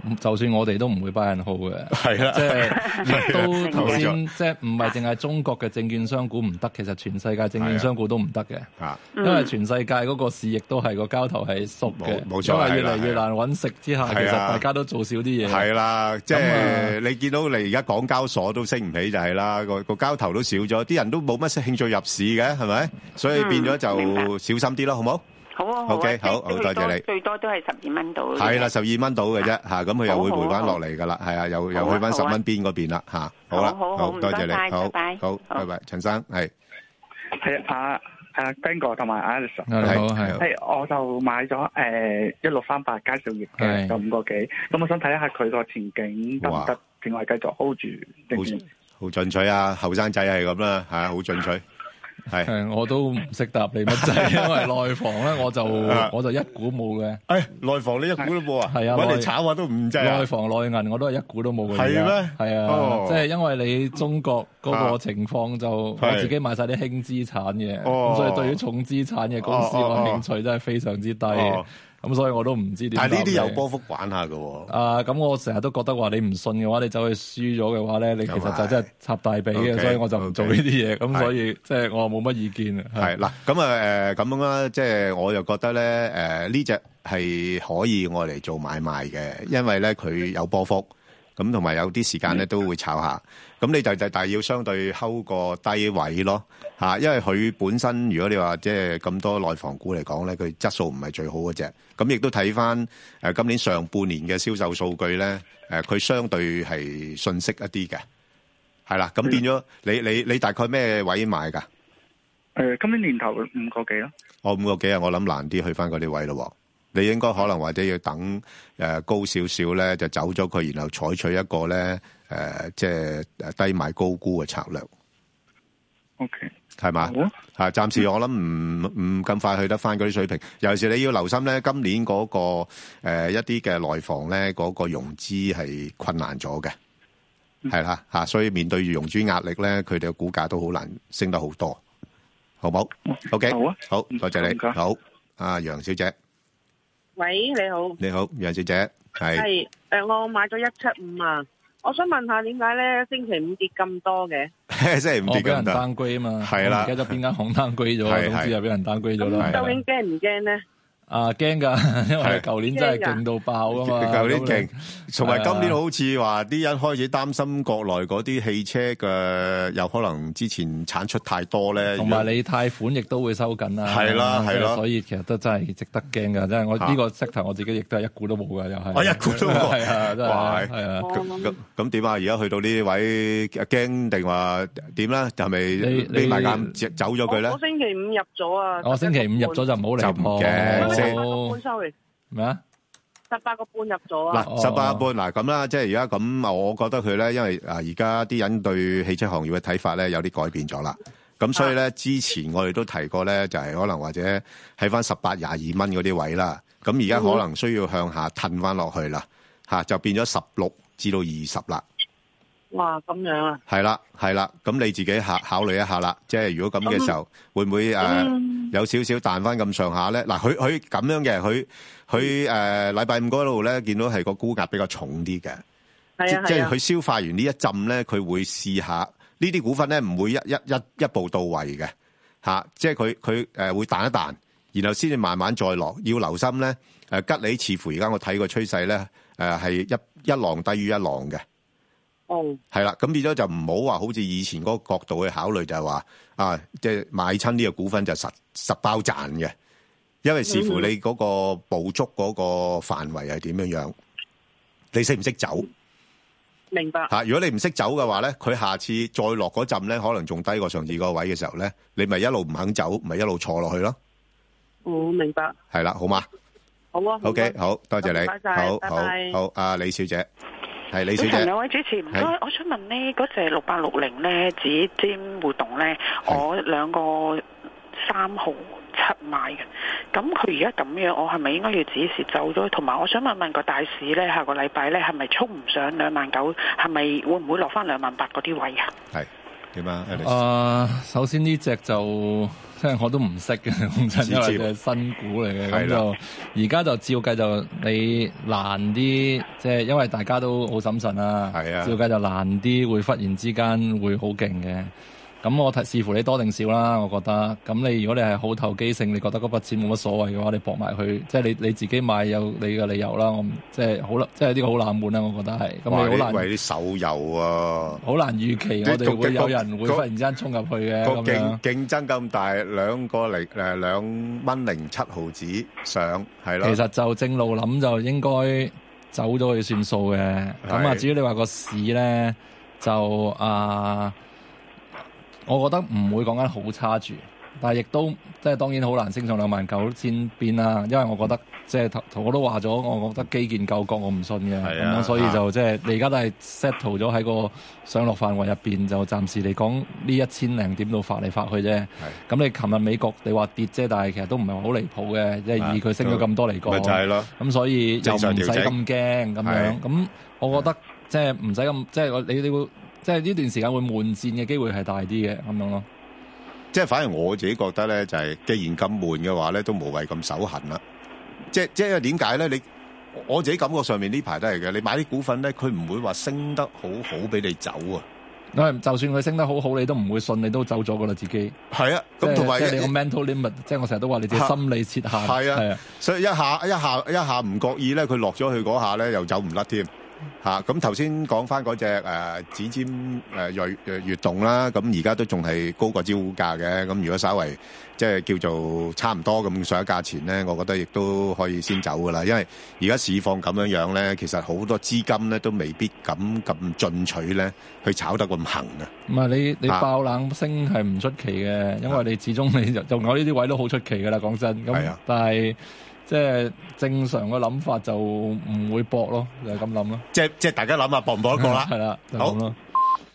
就算我哋都唔會 buy and hold 嘅。 係啦， 即係亦都頭先即係唔係淨係中國嘅證券商股唔得，其實全世界證券商股都唔得嘅。啊，因為全世界嗰個市亦都係個交投係縮嘅，冇錯，因為越嚟越難揾食之下，其實大家都做少啲嘢。係啦，即係你見到你而家港交所都升唔起就係啦，個個交投都少咗，啲人都冇乜興趣入市嘅，係咪？所以變咗就小心啲咯，好冇？好啊，好 OK， 好，好多謝你。最多都係十二蚊到。係啦，十二蚊到嘅啫，嚇，咁佢又會回翻落嚟噶啦，係啊，又又去翻十蚊邊嗰邊啦，嚇。好啦，好多謝你，好，好，拜拜，陳生係。 係啊，阿 Ben 哥同埋 Alex， 係係。 係，我就買咗誒一六三八佳兆業嘅，就五個幾。咁我想睇下佢個前景得唔得，定係繼續 hold 住？好進取啊，後生仔係咁啦，嚇，好進取。係，我都唔識答你乜滯，因為內房咧，我就我就一股冇嘅。誒，內房你一股都冇啊？係啊，搵嚟炒下都唔制啊。內房內銀我都係一股都冇嘅。係咩？係啊，即係因為你中國嗰個情況就我自己買晒啲輕資產嘅，咁所以對於重資產嘅公司我興趣真係非常之低。咁所以我都唔知點。但係呢啲有波幅玩下㗎喎。啊，咁我成日都覺得話你唔信嘅話，你走去輸咗嘅話咧，你其實就真係插大髀嘅，所以我就唔做呢啲嘢。咁所以即係我冇乜意見啊。係嗱，咁啊誒咁樣啦，即係我又覺得咧誒呢隻係可以我嚟做買賣嘅，因為咧佢有波幅。咁同埋有啲時間咧都會炒下，咁你就就但係要相對睺個低位咯嚇，因為佢本身如果你話即係咁多內房股嚟講咧，佢質素唔係最好嗰隻，咁亦都睇翻誒今年上半年嘅銷售數據咧，誒佢相對係遜色一啲嘅，係啦，咁變咗你你你大概咩位買㗎？誒，今年年頭五個幾咯。我五個幾啊，我諗難啲去翻嗰啲位咯喎。你應該可能或者要等誒高少少咧，就走咗佢，然後採取一個咧誒，即係低買高估嘅策略。O K，係嘛？嚇，暫時我諗唔唔咁快去得翻嗰啲水平。尤其是你要留心咧，今年嗰個誒一啲嘅內房咧，嗰個融資係困難咗嘅，係啦嚇，所以面對住融資壓力咧，佢哋嘅股價都好難升得好多，好冇 ？O K，好啊，好，多謝你，好，阿楊小姐。 喂，你好。你好， 楊小姐，係。係， 誒，我買咗一七五啊，我想問下點解咧星期五跌咁多嘅？ 星期五跌咁多。我俾人單歸啊嘛。係啦。唔記得邊間行單歸咗，總之又俾人單歸咗啦。究竟驚唔驚咧？啊，驚噶，因為舊年真係勁到爆啊嘛。舊年勁，同埋今年好似話啲人開始擔心國內嗰啲汽車嘅有可能之前產出太多咧。同埋你貸款亦都會收緊啦。係啦，係啦。所以其實都真係值得驚噶，真係我呢個 sector 我自己亦都係一股都冇噶，又係。我一股都冇。係啊，真係。係啊。咁咁咁點啊？而家去到呢位驚定話點咧？就係咪匿埋眼走咗佢咧？我星期五入咗啊。我星期五入咗就唔好嚟破嘅。十八個半 sorry 咩啊？十八個半入咗啊！嗱，十八個半嗱咁啦，即係而家咁，我覺得佢咧，因為啊，而家啲人對汽車行業嘅睇法咧有啲改變咗啦。咁所以咧，之前我哋都提過咧，就係可能或者喺翻十八廿二蚊嗰啲位啦。咁而家可能需要向下褪翻落去啦，嚇就變咗十六至到二十啦。哇，咁樣啊？係啦，係啦，咁你自己考考慮一下啦。即係如果咁嘅時候，會唔會誒有少少彈翻咁上下咧？嗱，佢佢咁樣嘅，佢佢誒禮拜五嗰度咧，見到係個沽壓比較重啲嘅。係啊，即係佢消化完呢一浸咧，佢會試下呢啲股份咧，唔會一一一一步到位嘅嚇。即係佢佢誒會彈一彈，然後先至慢慢再落。要留心咧，誒吉利似乎而家我睇個趨勢咧，誒係一一浪低於一浪嘅。哦，係啦，咁變咗就唔好話好似以前嗰個角度去考慮，就係話啊，即係買親呢個股份就實實包賺嘅，因為視乎你嗰個捕捉嗰個範圍係點樣樣，你識唔識走？明白吓，如果你唔識走嘅話咧，佢下次再落嗰陣咧，可能仲低過上次嗰個位嘅時候咧，你咪一路唔肯走，咪一路坐落去咯。哦，明白。係啦，好嘛？好啊。OK，好多謝你，好好好，阿李小姐。係李小姐，兩位主持唔該，我想問呢嗰隻六八六零咧，指尖活動咧，我兩個三毫七買嘅，咁佢而家咁樣，我係咪應該要止蝕走咗？同埋我想問問個大市咧，下個禮拜咧係咪衝唔上兩萬九？係咪會唔會落翻兩萬八嗰啲位啊？係點啊？ 啊，首先呢隻就即係我都唔識嘅，講真，因為係新股嚟嘅，咁就而家就照計就你難啲，即係因為大家都好審慎啊，照計就難啲，會忽然之間會好勁嘅。咁我睇視乎你多定少啦，我覺得。咁你如果你係好投機性，你覺得嗰筆錢冇乜所謂嘅話，你搏埋去，即係你你自己買有你嘅理由啦。我即係好啦，即係呢個好冷門啦，我覺得係。咁你好難為啲手遊啊， 好難預期我哋會有人會忽然之間衝入去嘅。 個競競爭咁大，兩個零誒兩蚊零七毫子上係咯。 其實就正路諗就應該走咗去算數嘅。咁啊，至於你話個市咧，就啊。我覺得唔會講緊好差住，但係亦都即係當然好難升上兩萬九千邊啦。因為我覺得即係頭我都話咗，我覺得基建救國我唔信嘅，咁、啊、樣所以就即係、啊、你而家都係 settle 咗喺個上落範圍入邊，就暫時嚟講呢一千零點度發嚟發去啫。咁你琴日美國你話跌啫，但係其實都唔係好離譜嘅，即係以佢升咗咁多嚟講。咪就係咯。咁所以又唔使咁驚咁樣。咁我覺得即係唔使咁即係你你會。即係呢段時間會悶戰嘅機會係大啲嘅咁樣咯。 即係反而我自己覺得咧，就係、是、既然咁悶嘅話咧，都無謂咁手痕啦。即係即係點解咧？你我自己感覺上面呢排都係嘅。你買啲股份咧，佢唔會話升得好好俾你走啊。 因就算佢升得好好，你都唔會信，你都走咗噶啦自己。 係啊，咁同埋即係你個 mental limit，即係我成日都話你自己心理設限。 係啊，啊，所以一下一下一下唔覺意咧，佢落咗去嗰下咧，又走唔甩添。嚇咁頭先講翻嗰隻誒指尖誒鋭誒躍動啦，咁而家都仲係高過招股價嘅。咁如果稍為即係叫做差唔多咁上一價錢咧，我覺得亦都可以先走噶啦。因為而家市況咁樣樣咧，其實好多資金咧都未必敢咁進取咧去炒得咁行嘅。 唔係你你爆冷升係唔出奇嘅，因為你始終你就就我呢啲位都好出奇噶啦，講真。咁但係。即係正常嘅諗法就唔會搏咯，就係咁諗咯。 即係即係大家諗下搏唔搏得過啦。 係啦，就咁咯。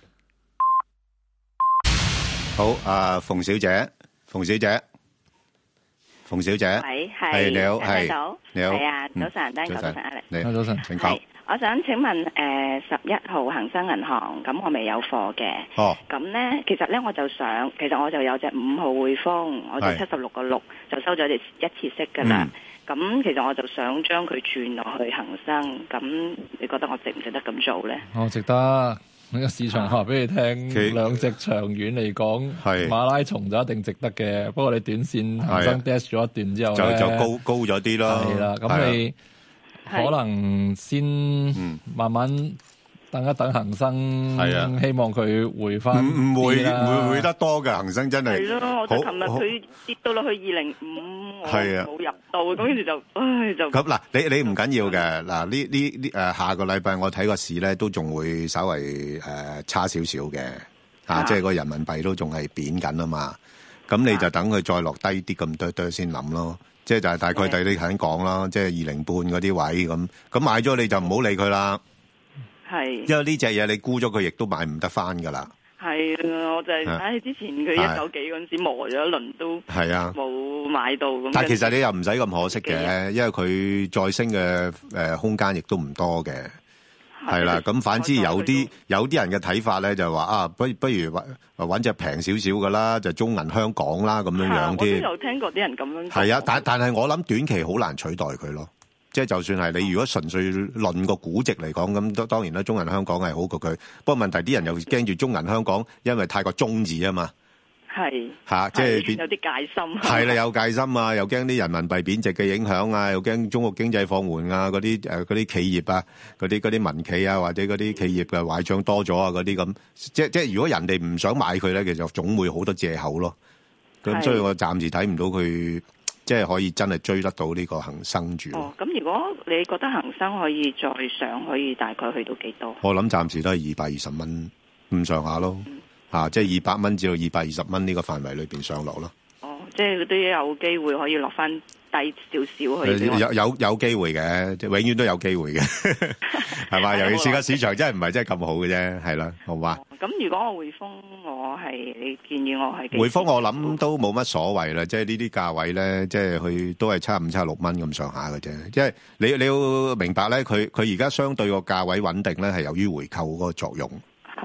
好，阿馮小姐，馮小姐，馮小姐， 喂，係你好，係你好，係啊，早晨，大家早晨，阿力， 你好，早晨，請講。 我想請問，誒十一號恒生銀行，咁我未有貨嘅。哦。咁咧，其實咧我就想，其實我就有隻五號匯豐，我就七十六個六就收咗隻一次息㗎啦。咁、嗯、其實我就想將佢轉落去恒生，咁你覺得我值唔值得咁做咧？ 我、哦、值得。呢個市場話俾你聽，兩隻長遠嚟講，馬拉松就一定值得嘅。不過你短線恒生 dash 咗一段之後咧， 就就高高咗啲咯。 係啦，咁你可能先慢慢等一等恒生，係啊，希望佢回翻。唔唔會唔會回得多嘅恒生真係。 係咯，我就琴日佢跌到落去二零五，我冇入到，咁跟住就唉就。 咁嗱，你你唔緊要嘅嗱，呢呢呢誒下個禮拜我睇個市咧都仲會稍微誒差少少嘅嚇，即係個人民幣都仲係貶緊啊嘛。咁你就等佢再落低啲咁多多先諗咯。即係就係大概第你頭先講啦，即係二零半嗰啲位咁，咁買咗你就唔好理佢啦。 係， 因為呢隻嘢你沽咗佢，亦都買唔得翻噶啦。 係啊，我就係、是、唉，之前佢一九幾嗰陣時磨咗一輪都係啊，冇買到咁。 但係其實你又唔使咁可惜嘅，因為佢再升嘅誒空間亦都唔多嘅。係啦，咁反之有啲有啲人嘅睇法咧，就話啊，不不如揾揾隻平少少噶啦，就中銀香港啦咁樣樣添。 我都有聽過啲人咁樣講。 係啊，但但係我諗短期好難取代佢咯。即係就算係你如果純粹論個估值嚟講，咁當然啦，中銀香港係好過佢。不過問題啲人又驚住中銀香港，因為太過中字啊嘛。 係嚇，即係有啲戒心。 係啦，有戒心啊，又驚啲人民幣貶值嘅影響啊，又驚中國經濟放緩啊，嗰啲誒嗰啲企業啊，嗰啲嗰啲民企啊，或者嗰啲企業嘅壞帳多咗啊，嗰啲咁。即即係如果人哋唔想買佢咧，其實總會好多藉口咯。咁所以我暫時睇唔到佢。即係可以真係追得到呢個恒生住。 哦，咁如果你覺得恒生可以再上，可以大概去到幾多？ 我諗暫時都係二百二十蚊咁上下咯，嗯啊、即係二百蚊至到二百二十蚊呢個範圍裏邊上落咯。 哦，即係都有機會可以落翻低少少去。 有有有機會嘅，即係永遠都有機會嘅，係嘛？尤其是個市場真係唔係真係咁好嘅啫，係啦，好嘛？ 咁如果我匯豐，我係你建議我係匯豐，我諗都冇乜所謂啦。即係呢啲價位咧，即係佢都係差五、差六蚊咁上下嘅啫。即係你你要明白咧，佢佢而家相對個價位穩定咧，係由於回購嗰個作用。 係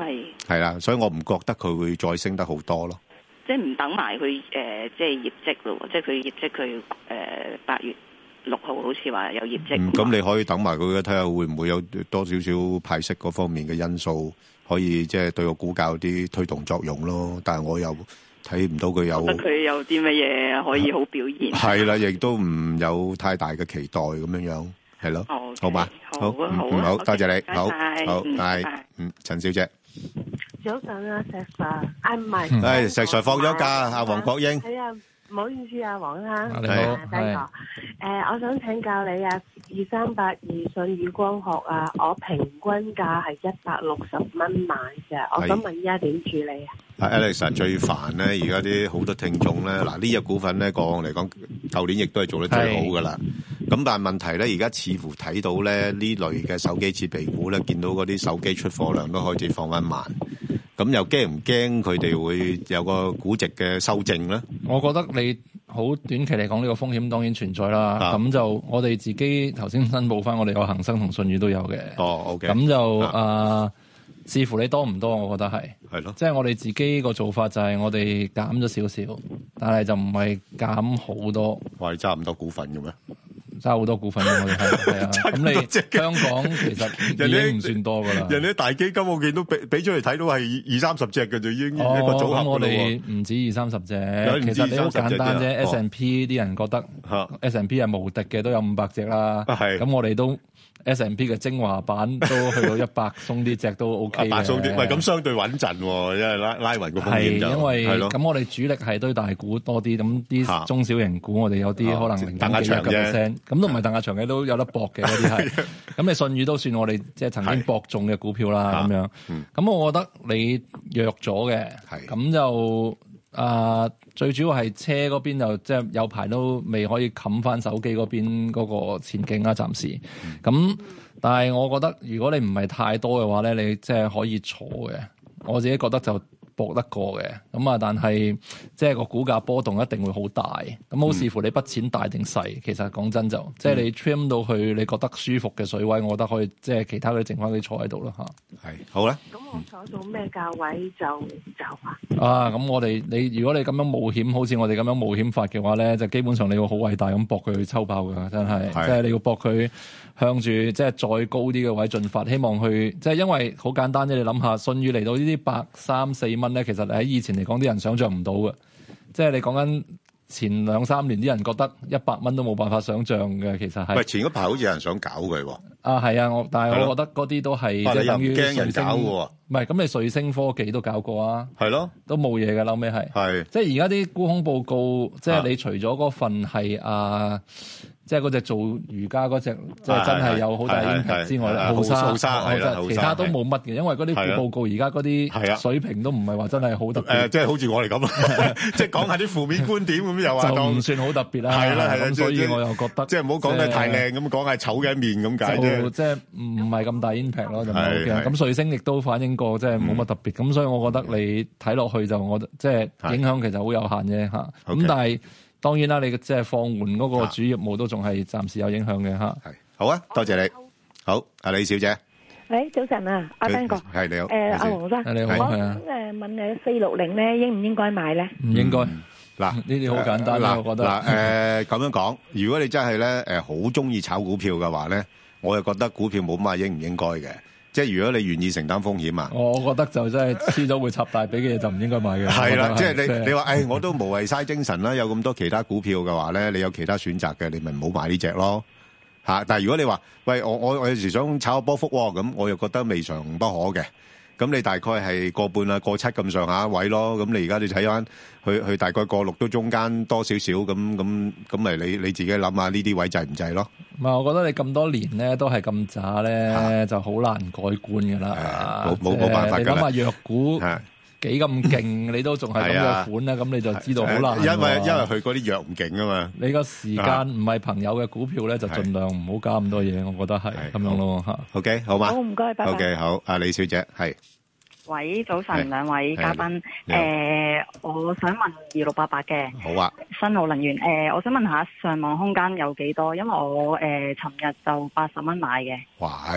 係啦，所以我唔覺得佢會再升得好多咯。 即係唔等埋佢誒，即係業績咯，即係佢業績佢誒八月六號好似話有業績。 嗯，咁你可以等埋佢嘅，睇下會唔會有多少少派息嗰方面嘅因素，可以即係對個股價有啲推動作用咯。但係我又睇唔到佢有。 覺得佢有啲乜嘢可以好表現？ 係啦，亦都唔有太大嘅期待咁樣樣，係咯。 Okay, 好嘛？ 好啊，好啊， 好，多謝你，好，好， 嗯， 係，嗯，陳小姐。 早晨啊，石 Sir，啊唔係， 係石 Sir 放咗假，阿黃國英。 係啊，唔好意思啊，黃生。 你好， 第一個，誒，我想請教你啊，二三八二舜宇光學啊，我平均價係一百六十蚊買嘅，我想問依家點處理啊？ 啊 Alex 最煩咧，而家啲好多聽眾咧，嗱呢隻股份咧，過往嚟講，舊年亦都係做得最好噶啦。咁但係問題咧，而家似乎睇到咧呢類嘅手機設備股咧，見到嗰啲手機出貨量都開始放翻慢。咁又驚唔驚佢哋會有個估值嘅修正咧？ 我覺得你好短期嚟講，呢個風險當然存在啦。咁、啊、就我哋自己頭先申報翻，我哋有恒生同舜宇都有嘅。 哦，OK。 咁就啊、呃，視乎你多唔多，我覺得係。 係咯。 即係我哋自己個做法就係我哋減咗少少，但係就唔係減好多。 話你揸咁多股份嘅咩？ 揸好多股份嘅我哋係係啊，咁你香港其實已經唔算多噶啦。 人哋啲大基金我見到俾俾出嚟睇到係二三十隻嘅就已經一個組合。 咁我哋唔止二三十隻，其實你好簡單啫。S and P 啲人覺得 S and P 係無敵嘅，都有五百隻啦。咁我哋都 S and P 嘅精華版都去到一百鬆啲隻都 OK 嘅。百鬆啲，喂咁相對穩陣喎，因為拉拉勻個風險就係。因為咁我哋主力係堆大股多啲，咁啲中小型股我哋有啲可能零點幾一個 percent。咁都唔係鄧亞祥嘅，都有得搏嘅嗰啲係。咁你舜宇都算我哋即係曾經搏中嘅股票啦，咁樣。咁、嗯、我覺得你弱咗嘅，咁就啊、呃、最主要係車嗰邊就即係有排都未可以冚翻手機嗰邊嗰個前景啦，暫時。咁、嗯、但係我覺得如果你唔係太多嘅話咧，你即係可以坐嘅。我自己覺得就搏得過嘅，咁啊，但係即係個股價波動一定會好大，咁好視乎你筆錢大定細、嗯。其實講真就，即、嗯、係、就是、你 trim 到去你覺得舒服嘅水位，我覺得可以即係其他嗰啲剩翻啲坐喺度啦嚇。係好啦。咁我坐到咩價位就走啊？啊，咁我哋你如果你咁樣冒險，好似我哋咁樣冒險法嘅話咧，就基本上你要好偉大咁搏佢去抽爆㗎，真係，即係、就是、你要搏佢向住即係再高啲嘅位進發，希望去即係、就是、因為好簡單啫，你諗下，舜宇嚟到呢啲百三四蚊咧，其實喺以前嚟講啲人想象唔到嘅，即係你講緊前兩三年啲人覺得一百蚊都冇辦法想象嘅，其實係。喂，前嗰排好似有人想搞佢喎。啊，係啊，我但係我覺得嗰啲都係即係等於驚人搞喎。唔係，咁你瑞星科技都搞過啊。係咯，都冇嘢嘅，後尾係。係。即係而家啲沽空報告，即係你除咗嗰份係啊。即係嗰隻做瑜伽嗰隻，即係真係有好大 impact 之外咧，後生，後生，其他都冇乜嘅，因為嗰啲報告而家嗰啲水平都唔係話真係好特別。誒，即係好似我哋咁，即係講下啲負面觀點咁又話就唔算好特別啦。係啦係啦，咁所以我又覺得即係唔好講得太靚咁，講係醜嘅一面咁解啫。即係唔係咁大 impact 咯，就唔係好驚。咁瑞星亦都反映過，即係冇乜特別。咁所以我覺得你睇落去就我即係影響其實好有限啫嚇。咁但係。當然啦，你即係放緩嗰個主業務都仲係暫時有影響嘅嚇。係好啊，多謝你。好，阿李小姐。 喂，早晨啊，阿彬哥。係你好。誒，阿黃生。你好。我誒問誒四六零咧，應唔應該買咧？唔應該。嗱，呢啲好簡單啦，我覺得。嗱，誒咁樣講，如果你真係咧誒好中意炒股票嘅話咧，我又覺得股票冇乜話應唔應該嘅。即係如果你願意承擔風險啊，我覺得就真係輸咗會插大髀嘅嘢就唔應該買嘅。係啦，即係你你話誒，我都無謂嘥精神啦，有咁多其他股票嘅話咧，你有其他選擇嘅，你咪唔好買呢隻咯嚇。但係如果你話喂，我我我有時想炒個波幅喎，咁我又覺得未嘗不可嘅。咁你大概係個半啊個七咁上下位咯。咁你而家你睇翻去去大概個六都中間多少少咁咁咁咪你你自己諗下呢啲位制唔制咯？唔係，我覺得你咁多年咧都係咁渣咧，就好難改觀噶啦。冇冇冇辦法㗎啦。你諗下弱股幾咁勁，你都仲係咁嘅款咧，咁你就知道好難。因為因為佢嗰啲弱唔勁啊嘛。你個時間唔係朋友嘅股票咧，就盡量唔好加咁多嘢，我覺得係咁樣咯嚇。OK，好嘛。好，唔該，拜拜。OK，好。阿李小姐係。 喂，早晨，兩位嘉賓。誒，我想問二六八八嘅。好啊。新奧能源。誒，我想問下上網空間有幾多？因為我誒尋日就八十蚊買嘅。哇！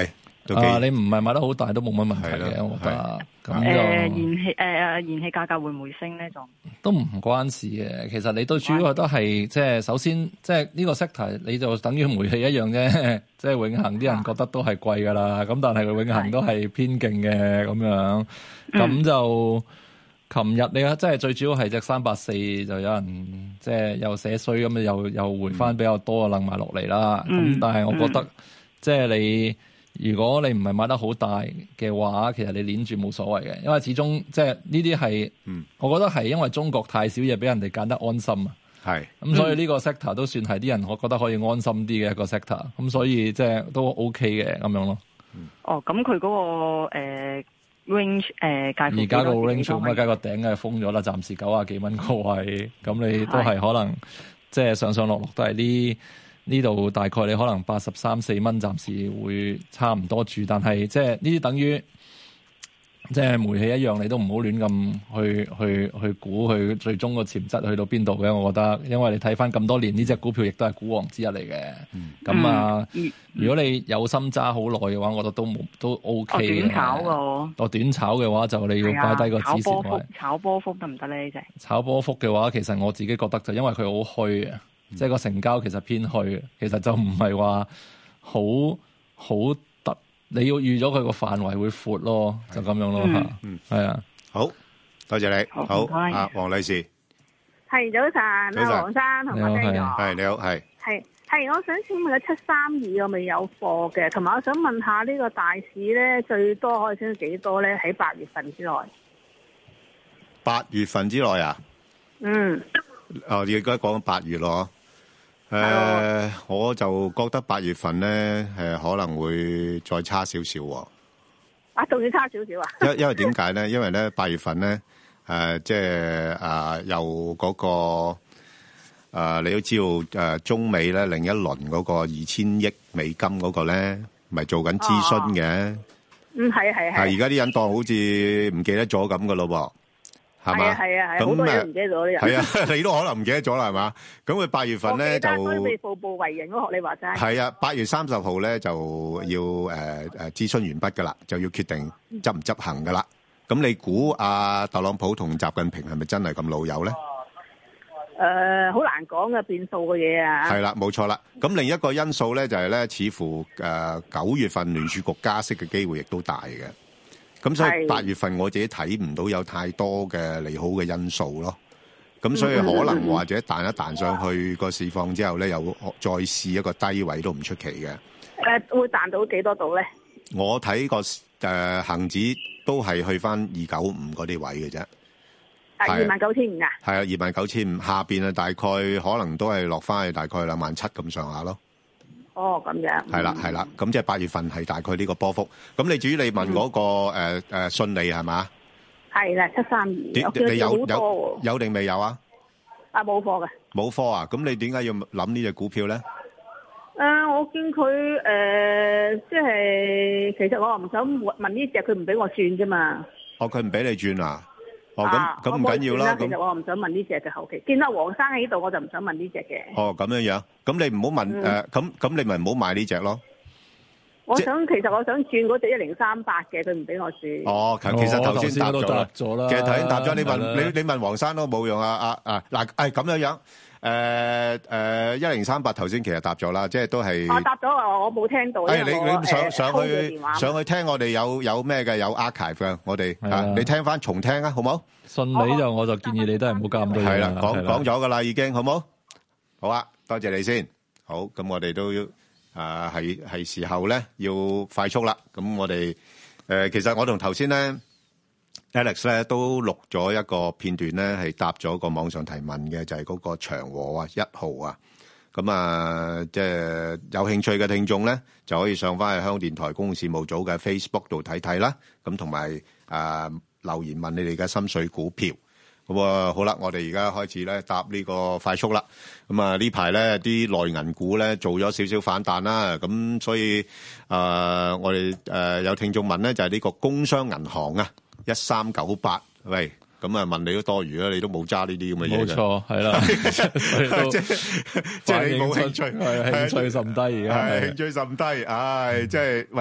都啊，你唔係買得好大都冇乜問題嘅，我覺得。咁就誒燃氣誒誒燃氣價格會唔會升咧？仲都唔關事嘅。其實你都主要都係即係首先即係呢個 sector 你就等於煤氣一樣啫。即係永恆啲人覺得都係貴㗎啦。咁但係佢永恆都係偏勁嘅咁樣。咁、嗯、就琴日你即係最主要係隻三八四就有人即係又寫衰咁，又又回翻比較多啊，掕埋落嚟啦。咁、嗯、但係我覺得、嗯、即係你。如果你唔係買得好大嘅話，其實你攣住冇所謂嘅，因為始終即係呢啲係，我覺得係因為中國太少嘢俾人哋揀得安心啊。係，咁所以呢個 sector 都算係啲人我覺得可以安心啲嘅一個 sector，咁所以即係都 OK 嘅咁樣咯。 哦，咁佢嗰個誒 range 誒介乎而家個 range 咁啊，梗係個頂係封咗啦，暫時九啊幾蚊個位，咁你都係可能即係上上落落都係呢。呢度大概你可能八十三四蚊，暫時會差唔多住，但係即係呢啲等於即係煤氣一樣，你都唔好亂咁去去去估佢最終個潛質去到邊度嘅。我覺得，因為你睇翻咁多年呢隻股票，亦都係股王之一嚟嘅。咁、嗯、啊、嗯，如果你有心揸好耐嘅話，我覺得都冇都 OK 嘅。 短炒㗎， 我短炒嘅話就你要擺低個止蝕位。 炒波幅，炒波幅得唔得咧？呢隻炒波幅嘅話，其實我自己覺得就因為佢好虛啊。即係個成交其實偏虛，其實就唔係話好好突，你要預咗佢個範圍會闊咯，就咁樣咯吓。嗯，係啊， 好多謝你，好啊，黃女士， 係早晨，阿黃生同我聽咗， 係你好，係係係，我想請問個七三二我未有貨嘅，同埋我想問下呢個大市咧最多可以升到幾多咧？喺八月份之內， 八月份之內啊？嗯，哦，你而家講緊八月咯。誒、呃，我就覺得八月份咧，誒可能會再差少少喎。 啊，仲要差少少啊？ 因因為點解咧？因為咧八月份咧，誒、呃、即係誒由嗰個誒、呃，你都知道誒、呃、中美咧另一輪嗰個二千億美金嗰個咧，咪做緊諮詢嘅。 嗯，係係係。 係而家啲人當好似唔記得咗咁噶咯噃。係嘛？ 係啊係，好多嘢唔記得咗啲人。 係啊，你都可能唔記得咗啦，係嘛？咁佢八月份咧就所以步步為營咯，學你話齋。 係啊，八月三十號咧就要誒誒諮詢完畢噶啦，就要決定執唔執行噶啦。咁你估阿特朗普同習近平係咪真係咁老友咧？ 誒，好難講嘅變數嘅嘢啊。 係啦，冇錯啦。咁另一個因素咧就係咧，似乎誒九月份聯儲局加息嘅機會亦都大嘅。咁所以八月份我自己睇唔到有太多嘅利好嘅因素咯，咁所以可能或者彈一彈上去個市況之後咧，又再試一個低位都唔出奇嘅。 誒，會彈到幾多度咧？ 我睇個誒恆指都係去翻二九五嗰啲位嘅啫。 係二萬九千五啊？ 係啊，二萬九千五下邊啊，大概可能都係落翻去大概兩萬七咁上下咯。 哦，咁樣係啦，係啦，咁即係八月份係大概呢個波幅。咁你至於你問嗰、那個誒誒、嗯呃、信利係嘛？係啦，七三二。你有有有定未有啊？ 啊，冇貨嘅。 冇貨啊？咁你點解要諗呢隻股票咧？誒、 呃，我見佢誒、呃，即係其實我唔想問呢隻，佢唔俾我轉啫嘛。 哦，佢唔俾你轉啊？哦，咁咁唔緊要啦。 其實我唔想問呢隻嘅後期，見到黃生喺度，我就唔想問呢隻嘅。 哦，咁樣樣，咁你唔好問誒，咁、嗯、咁、呃、你咪唔好買呢隻咯。 我想其實我想轉嗰隻一零三八嘅，佢唔俾我轉。 哦，其實頭先答咗啦，其實頭先答咗，你問你你問黃生都冇用啊啊啊！嗱，誒咁樣樣。誒誒，一零三八頭先其實答咗啦，即係都係。我答咗啊，我冇聽到。誒，你你上上去上去聽我哋有有咩嘅有 archive 嘅，我哋啊，你聽翻重聽啊，好冇？ 信你就我就建議你都係唔好加咁多嘢。 係啦，講講咗噶啦，已經好冇？好啊，多謝你先。好，咁我哋都要啊，係係時候咧要快速啦。咁我哋誒，其實我同頭先咧。Alex 咧都錄咗一個片段咧，係答咗個網上提問嘅，就係、是、嗰個長和啊一號啊，咁啊即係有興趣嘅聽眾咧，就可以上翻去香港電台公共事務組嘅 Facebook 度睇睇啦。咁同埋啊留言問你哋嘅心水股票。咁啊好啦，我哋而家開始咧答呢個快速啦。咁啊呢排咧啲內銀股咧做咗少少反彈啦，咁所以啊、呃、我哋誒、呃、有聽眾問咧就係、是、呢個工商銀行啊。一三九八，喂，咁啊問你都多餘啦，你都冇揸呢啲咁嘅嘢嘅。冇錯，係啦， 即係即係你冇興趣， 係興趣甚低而家， 係興趣甚低，唉，即係喂，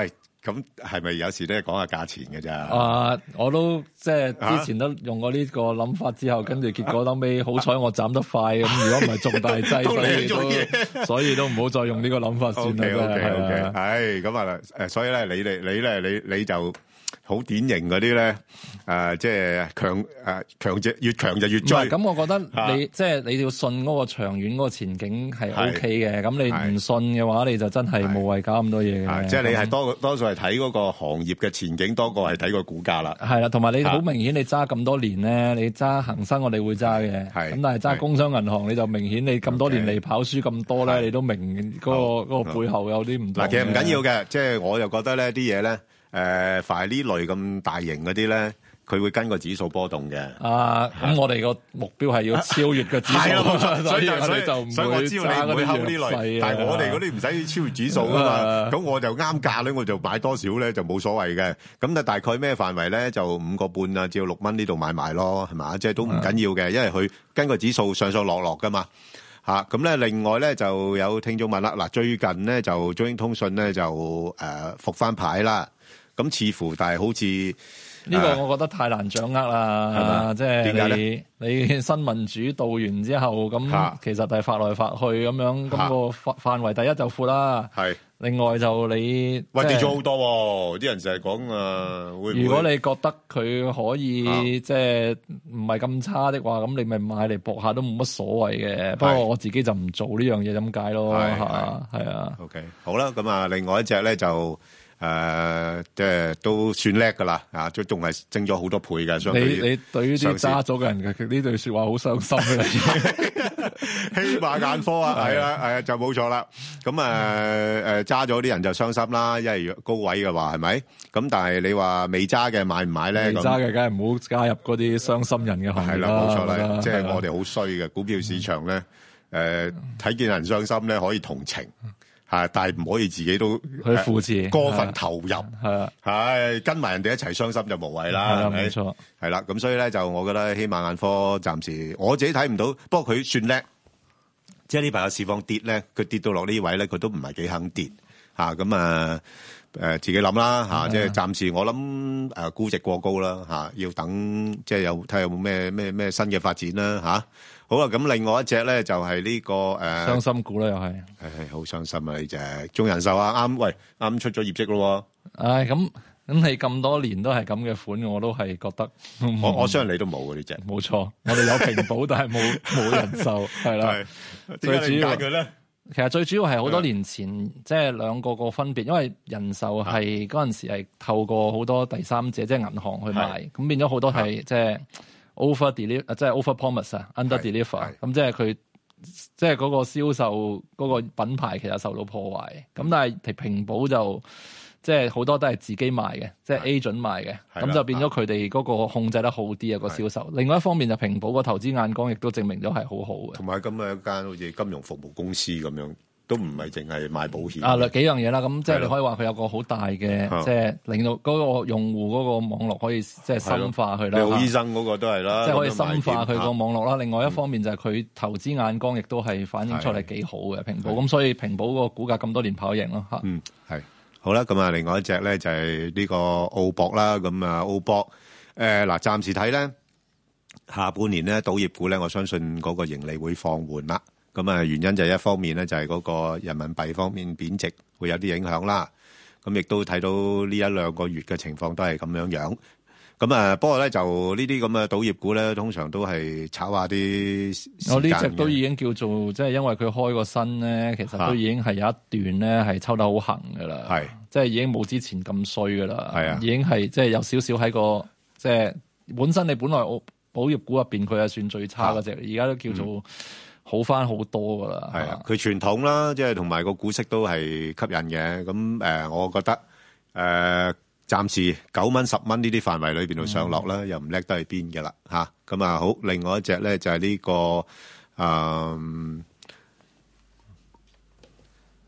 咁係咪有時都係講下價錢嘅咋？ 啊，我都即係之前都用過呢個諗法之後，跟住結果後尾好彩我斬得快咁，如果唔係中大劑，所以都所以都唔好再用呢個諗法算啦。 O K O K O K，係咁啊誒，所以咧你哋你咧你你就。好典型嗰啲咧，誒、呃，即係強誒強者越強就越追。 咁，我覺得你、啊、即係你要信嗰個長遠嗰個前景係 O K 嘅。咁你唔信嘅話，你就真係無謂搞咁多嘢嘅。 即係你係多多數係睇嗰個行業嘅前景多過係睇個股價啦。 係啦，同埋你好明顯，你揸咁多年咧，你揸恒生我哋會揸嘅。咁但係揸工商銀行你就明顯你咁多年嚟跑輸咁多咧，你都明嗰、嗰個嗰、嗰個背後有啲唔同。嗱， 其實唔緊要嘅，即係我又覺得咧啲嘢咧。誒、呃，凡係呢類咁大型嗰啲咧，佢會跟個指數波動嘅。 啊，咁我哋個目標係要超越個指數，所以我哋就唔會揸嗰啲弱勢。 但係我哋嗰啲唔使超越指數噶嘛，咁我就啱價咧，我就買多少咧就冇所謂嘅。咁啊，大概咩範圍咧？就五個半啊，至到六蚊呢度買賣咯，係嘛？即係都唔緊要嘅，因為佢跟個指數上上落落噶嘛。吓，咁咧，另外咧就有聽眾問啦，嗱，最近咧就中英通訊咧就誒復翻牌啦。咁似乎，但係好似呢個，我覺得太難掌握啦，係嘛？即係你你新聞主導完之後，咁其實係發來發去咁樣，咁個範範圍第一就闊啦。係，另外就你喂跌咗好多喎，啲人成日講啊，會唔會？ 如果你覺得佢可以即係唔係咁差的話，咁你咪買嚟搏下都冇乜所謂嘅。不過我自己就唔做呢樣嘢咁解咯，係係啊。 OK，好啦，咁啊，另外一隻咧就。誒、呃，即係都算叻噶啦，啊，都仲係升咗好多倍嘅。相對於你你對於啲揸咗嘅人嘅呢句說話好傷心嘅， 希瑪眼科啊，係啊，係啊，就冇錯啦。咁誒誒，揸咗啲人就傷心啦，因為高位嘅話係咪？咁但係你話未揸嘅買唔買咧？ 未揸嘅梗係唔好加入嗰啲傷心人嘅行列啦。係啦，冇錯啦， 即係我哋好衰嘅股票市場咧，誒、呃，睇見人傷心咧，可以同情。係，但係唔可以自己都去扶持， 過分投入， 係啊， 係跟埋人哋一齊傷心就無謂啦，係咪？冇錯，係啦，咁所以咧就我覺得希瑪眼科暫時我自己睇唔到，不過佢算叻，即係呢排個市況跌咧，佢跌到落呢位咧，佢都唔係幾肯跌吓，咁啊誒自己諗啦吓，即係暫時我諗誒估值過高啦吓，要等即係有睇下有冇咩咩咩新嘅發展啦吓。好啦，咁另外一隻咧就係呢個誒傷心股啦，又係係好傷心啊！呢隻中人壽啊，啱喂啱出咗業績咯。 唉，咁咁你咁多年都係咁嘅款，我都係覺得我我相信你都冇嘅呢隻， 冇錯，我哋有平保，但係冇冇人壽，係啦。最主要佢咧，其實最主要係好多年前即係兩個個分別，因為人壽係嗰陣時係透過好多第三者，即係銀行去賣，咁變咗好多係即係。over deliver 即係 over promise 啊 ，under deliver，咁即係佢即係嗰個銷售嗰個品牌其實受到破壞。咁但係平保就即係好多都係自己賣嘅，即係 agent 賣嘅，咁就變咗佢哋嗰個控制得好啲啊個銷售。另外一方面就平保個投資眼光亦都證明咗係好好嘅。 同埋咁嘅一間好似金融服務公司咁樣。都唔係淨係賣保險啊，幾樣嘢啦，咁即係你可以話佢有個好大嘅，即係令到嗰個用戶嗰個網絡可以即係深化佢啦。 你好醫生嗰個都係啦， 即係可以深化佢個網絡啦。另外一方面就係佢投資眼光亦都係反映出嚟幾好嘅平保，咁所以平保個股價咁多年跑贏咯嚇。 嗯，係好啦，咁啊，另外一隻咧就係呢個澳博啦，咁啊澳博誒嗱，暫時睇咧下半年咧賭業股咧，我相信嗰個盈利會放緩啦。咁啊，原因就係一方面咧，就係嗰個人民幣方面貶值會有啲影響啦。咁亦都睇到呢一兩個月嘅情況都係咁樣樣。咁啊，不過咧就呢啲咁嘅賭業股咧，通常都係炒下啲。 我呢隻都已經叫做即係因為佢開個新咧，其實都已經係有一段咧係抽得好行噶啦。係，即係已經冇之前咁衰噶啦。係啊，已經係即係有少少喺個即係本身你本來保業股入邊佢係算最差嗰隻，而家都叫做。嗯好翻好多噶啦， 係啊，佢傳統啦，即係同埋個股息都係吸引嘅。咁誒、呃，我覺得誒、呃，暫時九蚊、十蚊呢啲範圍裏邊度上落啦，嗯、又唔叻得去邊嘅啦嚇。咁啊，好，另外一隻咧就係、是、呢、這個誒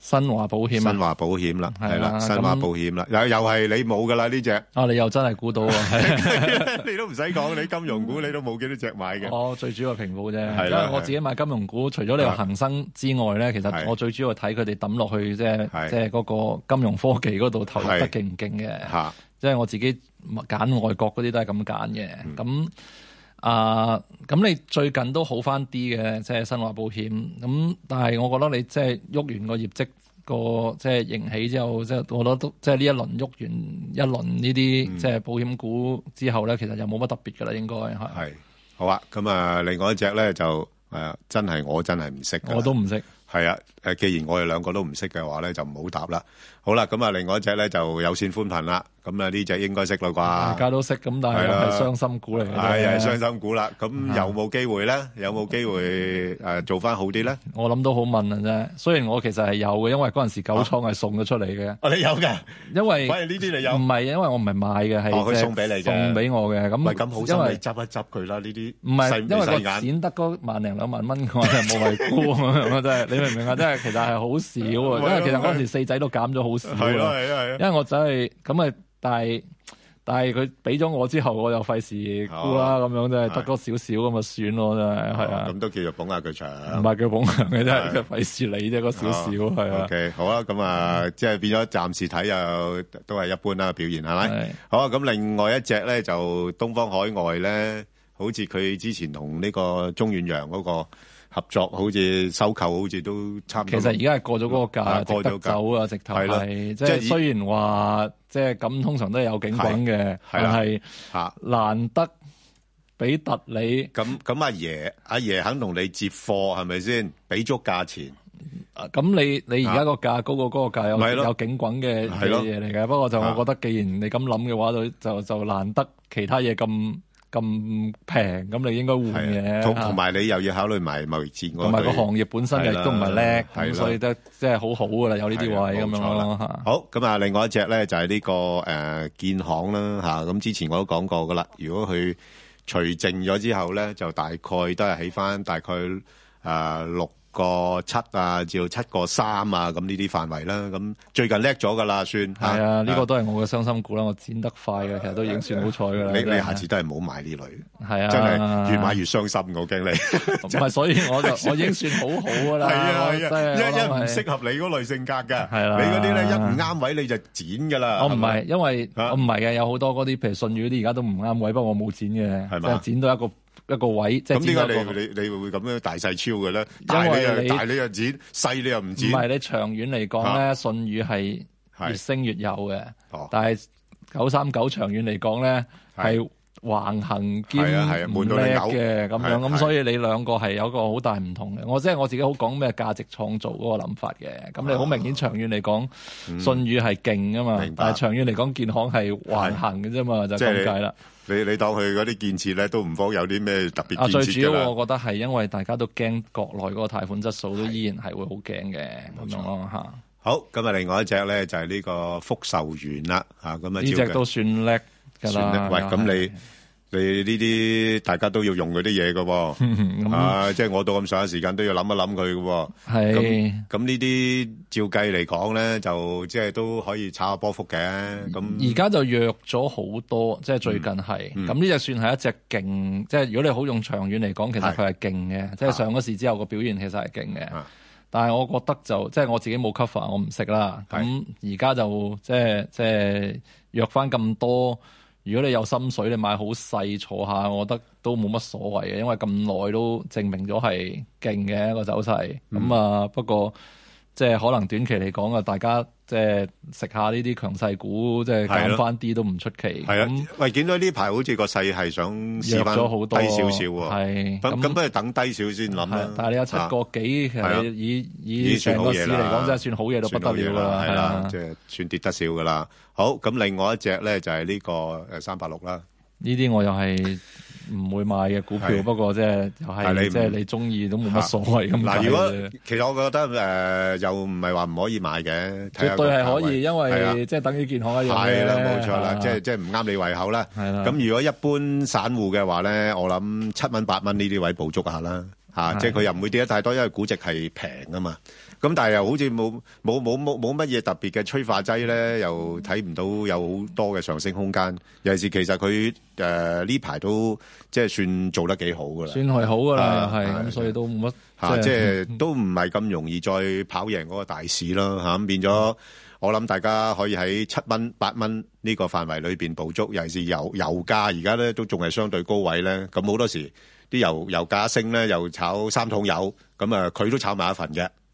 新華保險啊， 新華保險啦，係啦，新華保險啦，又又係你冇噶啦呢隻。 啊，你又真係估到啊！ 你都唔使講，你金融股你都冇幾多隻買嘅。 我最主要係平保啫，因為我自己買金融股，除咗你話恒生之外咧，其實我最主要係睇佢哋抌落去，即係即係嗰個金融科技嗰度投入得勁唔勁嘅。即係我自己揀外國嗰啲都係咁揀嘅。咁啊，咁你最近都好翻啲嘅，即係新華保險。咁但係我覺得你即係喐完個業績。個即係迎起之後，即係我覺得都即係呢一輪喐完一輪呢啲即係保險股之後咧，其實又冇乜特別噶啦，應該係。 係好啊，咁啊，另外一隻咧就誒，真係我真係唔識嘅。 我都唔識。 係啊，誒，既然我哋兩個都唔識嘅話咧，就唔好答啦。好啦，咁啊，另外一隻咧就有線寬頻啦。咁啊，呢隻應該識啦啩？大家都識，咁但係係傷心股嚟嘅。 係係傷心股啦。咁有冇機會咧？有冇機會誒做翻好啲咧？ 我諗都好問啊啫。雖然我其實係有嘅，因為嗰陣時九倉係送咗出嚟嘅。 哦，你有㗎？ 因為反而呢啲你有？ 唔係，因為我唔係買嘅，係佢送俾你嘅， 送俾我嘅。咁唔係咁好心，你執一執佢啦。呢啲唔係，因為個錢得嗰萬零兩萬蚊，我係冇謂沽咁樣。真係，你明唔明啊？真係，其實係好少啊。因為其實嗰陣時四仔都減咗好少。 係咯，係啊，係啊。 因為我真係咁啊，但係。但係佢俾咗我之後，我又費事沽啦，咁樣真係得嗰少少咁啊算咯，真係係啊。 咁都叫做捧下佢場， 唔係叫捧場嘅啫，佢費事你啫，嗰少少係啊。 OK，好啊，咁啊，即係變咗暫時睇又都係一般啦，表現係咪？好啊，咁另外一隻咧就東方海外咧，好似佢之前同呢個中遠洋嗰個合作，好似收購，好似都差唔多。 其實而家係過咗嗰個價，過咗走啊，直頭係即係雖然話。即係咁，通常都係有警棍嘅，但係難得俾突你。 咁咁，阿爺阿爺肯同你接貨係咪先？俾足價錢。 咁你你而家個價高過嗰個價有有警棍嘅嘢嚟嘅。不過就我覺得，既然你咁諗嘅話，就就就難得其他嘢咁。咁平，咁你應該換嘅。 同同埋你又要考慮埋貿易戰， 同埋個行業本身亦都唔係叻，咁所以都即係好好噶啦，有呢啲位咁樣咯。 好，咁啊，另外一隻咧就係呢個誒建行啦吓，咁之前我都講過噶啦。如果佢除淨咗之後咧，就大概都係起翻大概誒六個七啊，至到七個三啊，咁呢啲範圍啦。咁最近叻咗噶啦，算係啊，呢個都係我嘅傷心股啦。我剪得快嘅，其實都已經算好彩噶啦。 你你下次都係唔好買呢類， 係啊， 真係越買越傷心，我驚你。 唔係，所以我就我已經算好好噶啦。 係啊係啊，一一唔適合你嗰類性格嘅，係啦。你嗰啲咧一唔啱位你就剪噶啦。 我唔係，因為我唔係嘅，有好多嗰啲譬如信譽嗰啲而家都唔啱位，不過我冇剪嘅，係嘛，剪到一個。一個位，即係咁點解你你你會咁樣大細超嘅咧？大你又大你又剪，細你又唔剪。 唔係，你長遠嚟講咧，信譽係越升越有嘅。但係九三九長遠嚟講咧，係橫行兼唔叻嘅咁樣。咁所以你兩個係有一個好大唔同嘅。我即係我自己好講咩價值創造嗰個諗法嘅。咁你好明顯長遠嚟講，信譽係勁㗎嘛。但係長遠嚟講，建行係橫行嘅啫嘛，就咁解啦。 你你當佢嗰啲建設咧，都唔方有啲咩特別建設㗎啦。啊，最主要我覺得係因為大家都驚國內嗰個貸款質素都依然係會好驚嘅咁樣咯嚇。 好，咁啊，另外一隻咧就係呢個福壽園啦嚇，咁啊呢隻都算叻㗎啦。 喂，咁你你呢啲大家都要用嗰啲嘢㗎喎，啊，即係我到咁上下時間都要諗一諗佢㗎喎。 係。 咁咁呢啲照計嚟講咧，就即係都可以炒下波幅嘅。咁而家就弱咗好多，即係最近係。咁呢隻算係一隻勁，即係如果你好用長遠嚟講，其實佢係勁嘅。即係上咗市之後個表現其實係勁嘅。但係我覺得就即係我自己冇 cover，我唔識啦。咁而家就即係即係弱翻咁多。如果你有心水，你買好細坐下，我覺得都冇乜所謂嘅，因為咁耐都證明咗係勁嘅一個走勢。咁、嗯、啊，不過即係可能短期嚟講啊，大家即係食下呢啲強勢股，即係減翻啲都唔出奇。 係啊，喂，見到呢排好似個勢係想試翻低少少喎。係咁，咁不如等低少先諗啦。 但係你有七個幾，其實以以成個市嚟講，真係算好嘢到不得了啦。係啊， 即係算跌得少噶啦。好，咁另外一隻咧就係呢個誒三八六啦。 呢啲我又係唔會買嘅股票，不過即係又係即係你中意都冇乜所謂咁。 嗱，如果其實我覺得誒又唔係話唔可以買嘅， 絕對係可以，因為即係等於建行一樣嘅。 係啦，冇錯啦，即係即係唔啱你胃口啦。係啦。咁如果一般散戶嘅話咧，我諗七蚊八蚊呢啲位捕捉下啦，嚇，即係佢又唔會跌得太多，因為估值係平啊嘛。 咁但係又好似冇冇冇冇冇乜嘢特別嘅催化劑咧，又睇唔到有好多嘅上升空間。尤其是其實佢誒呢排都即係算做得幾好噶啦， 算係好噶啦，係咁，所以都冇乜嚇，即係都唔係咁容易再跑贏嗰個大市咯嚇。咁變咗，我諗大家可以喺七蚊八蚊呢個範圍裏邊捕捉。尤其是油油價而家咧都仲係相對高位咧，咁好多時啲油油價升咧，又炒三桶油，咁啊佢都炒埋一份嘅。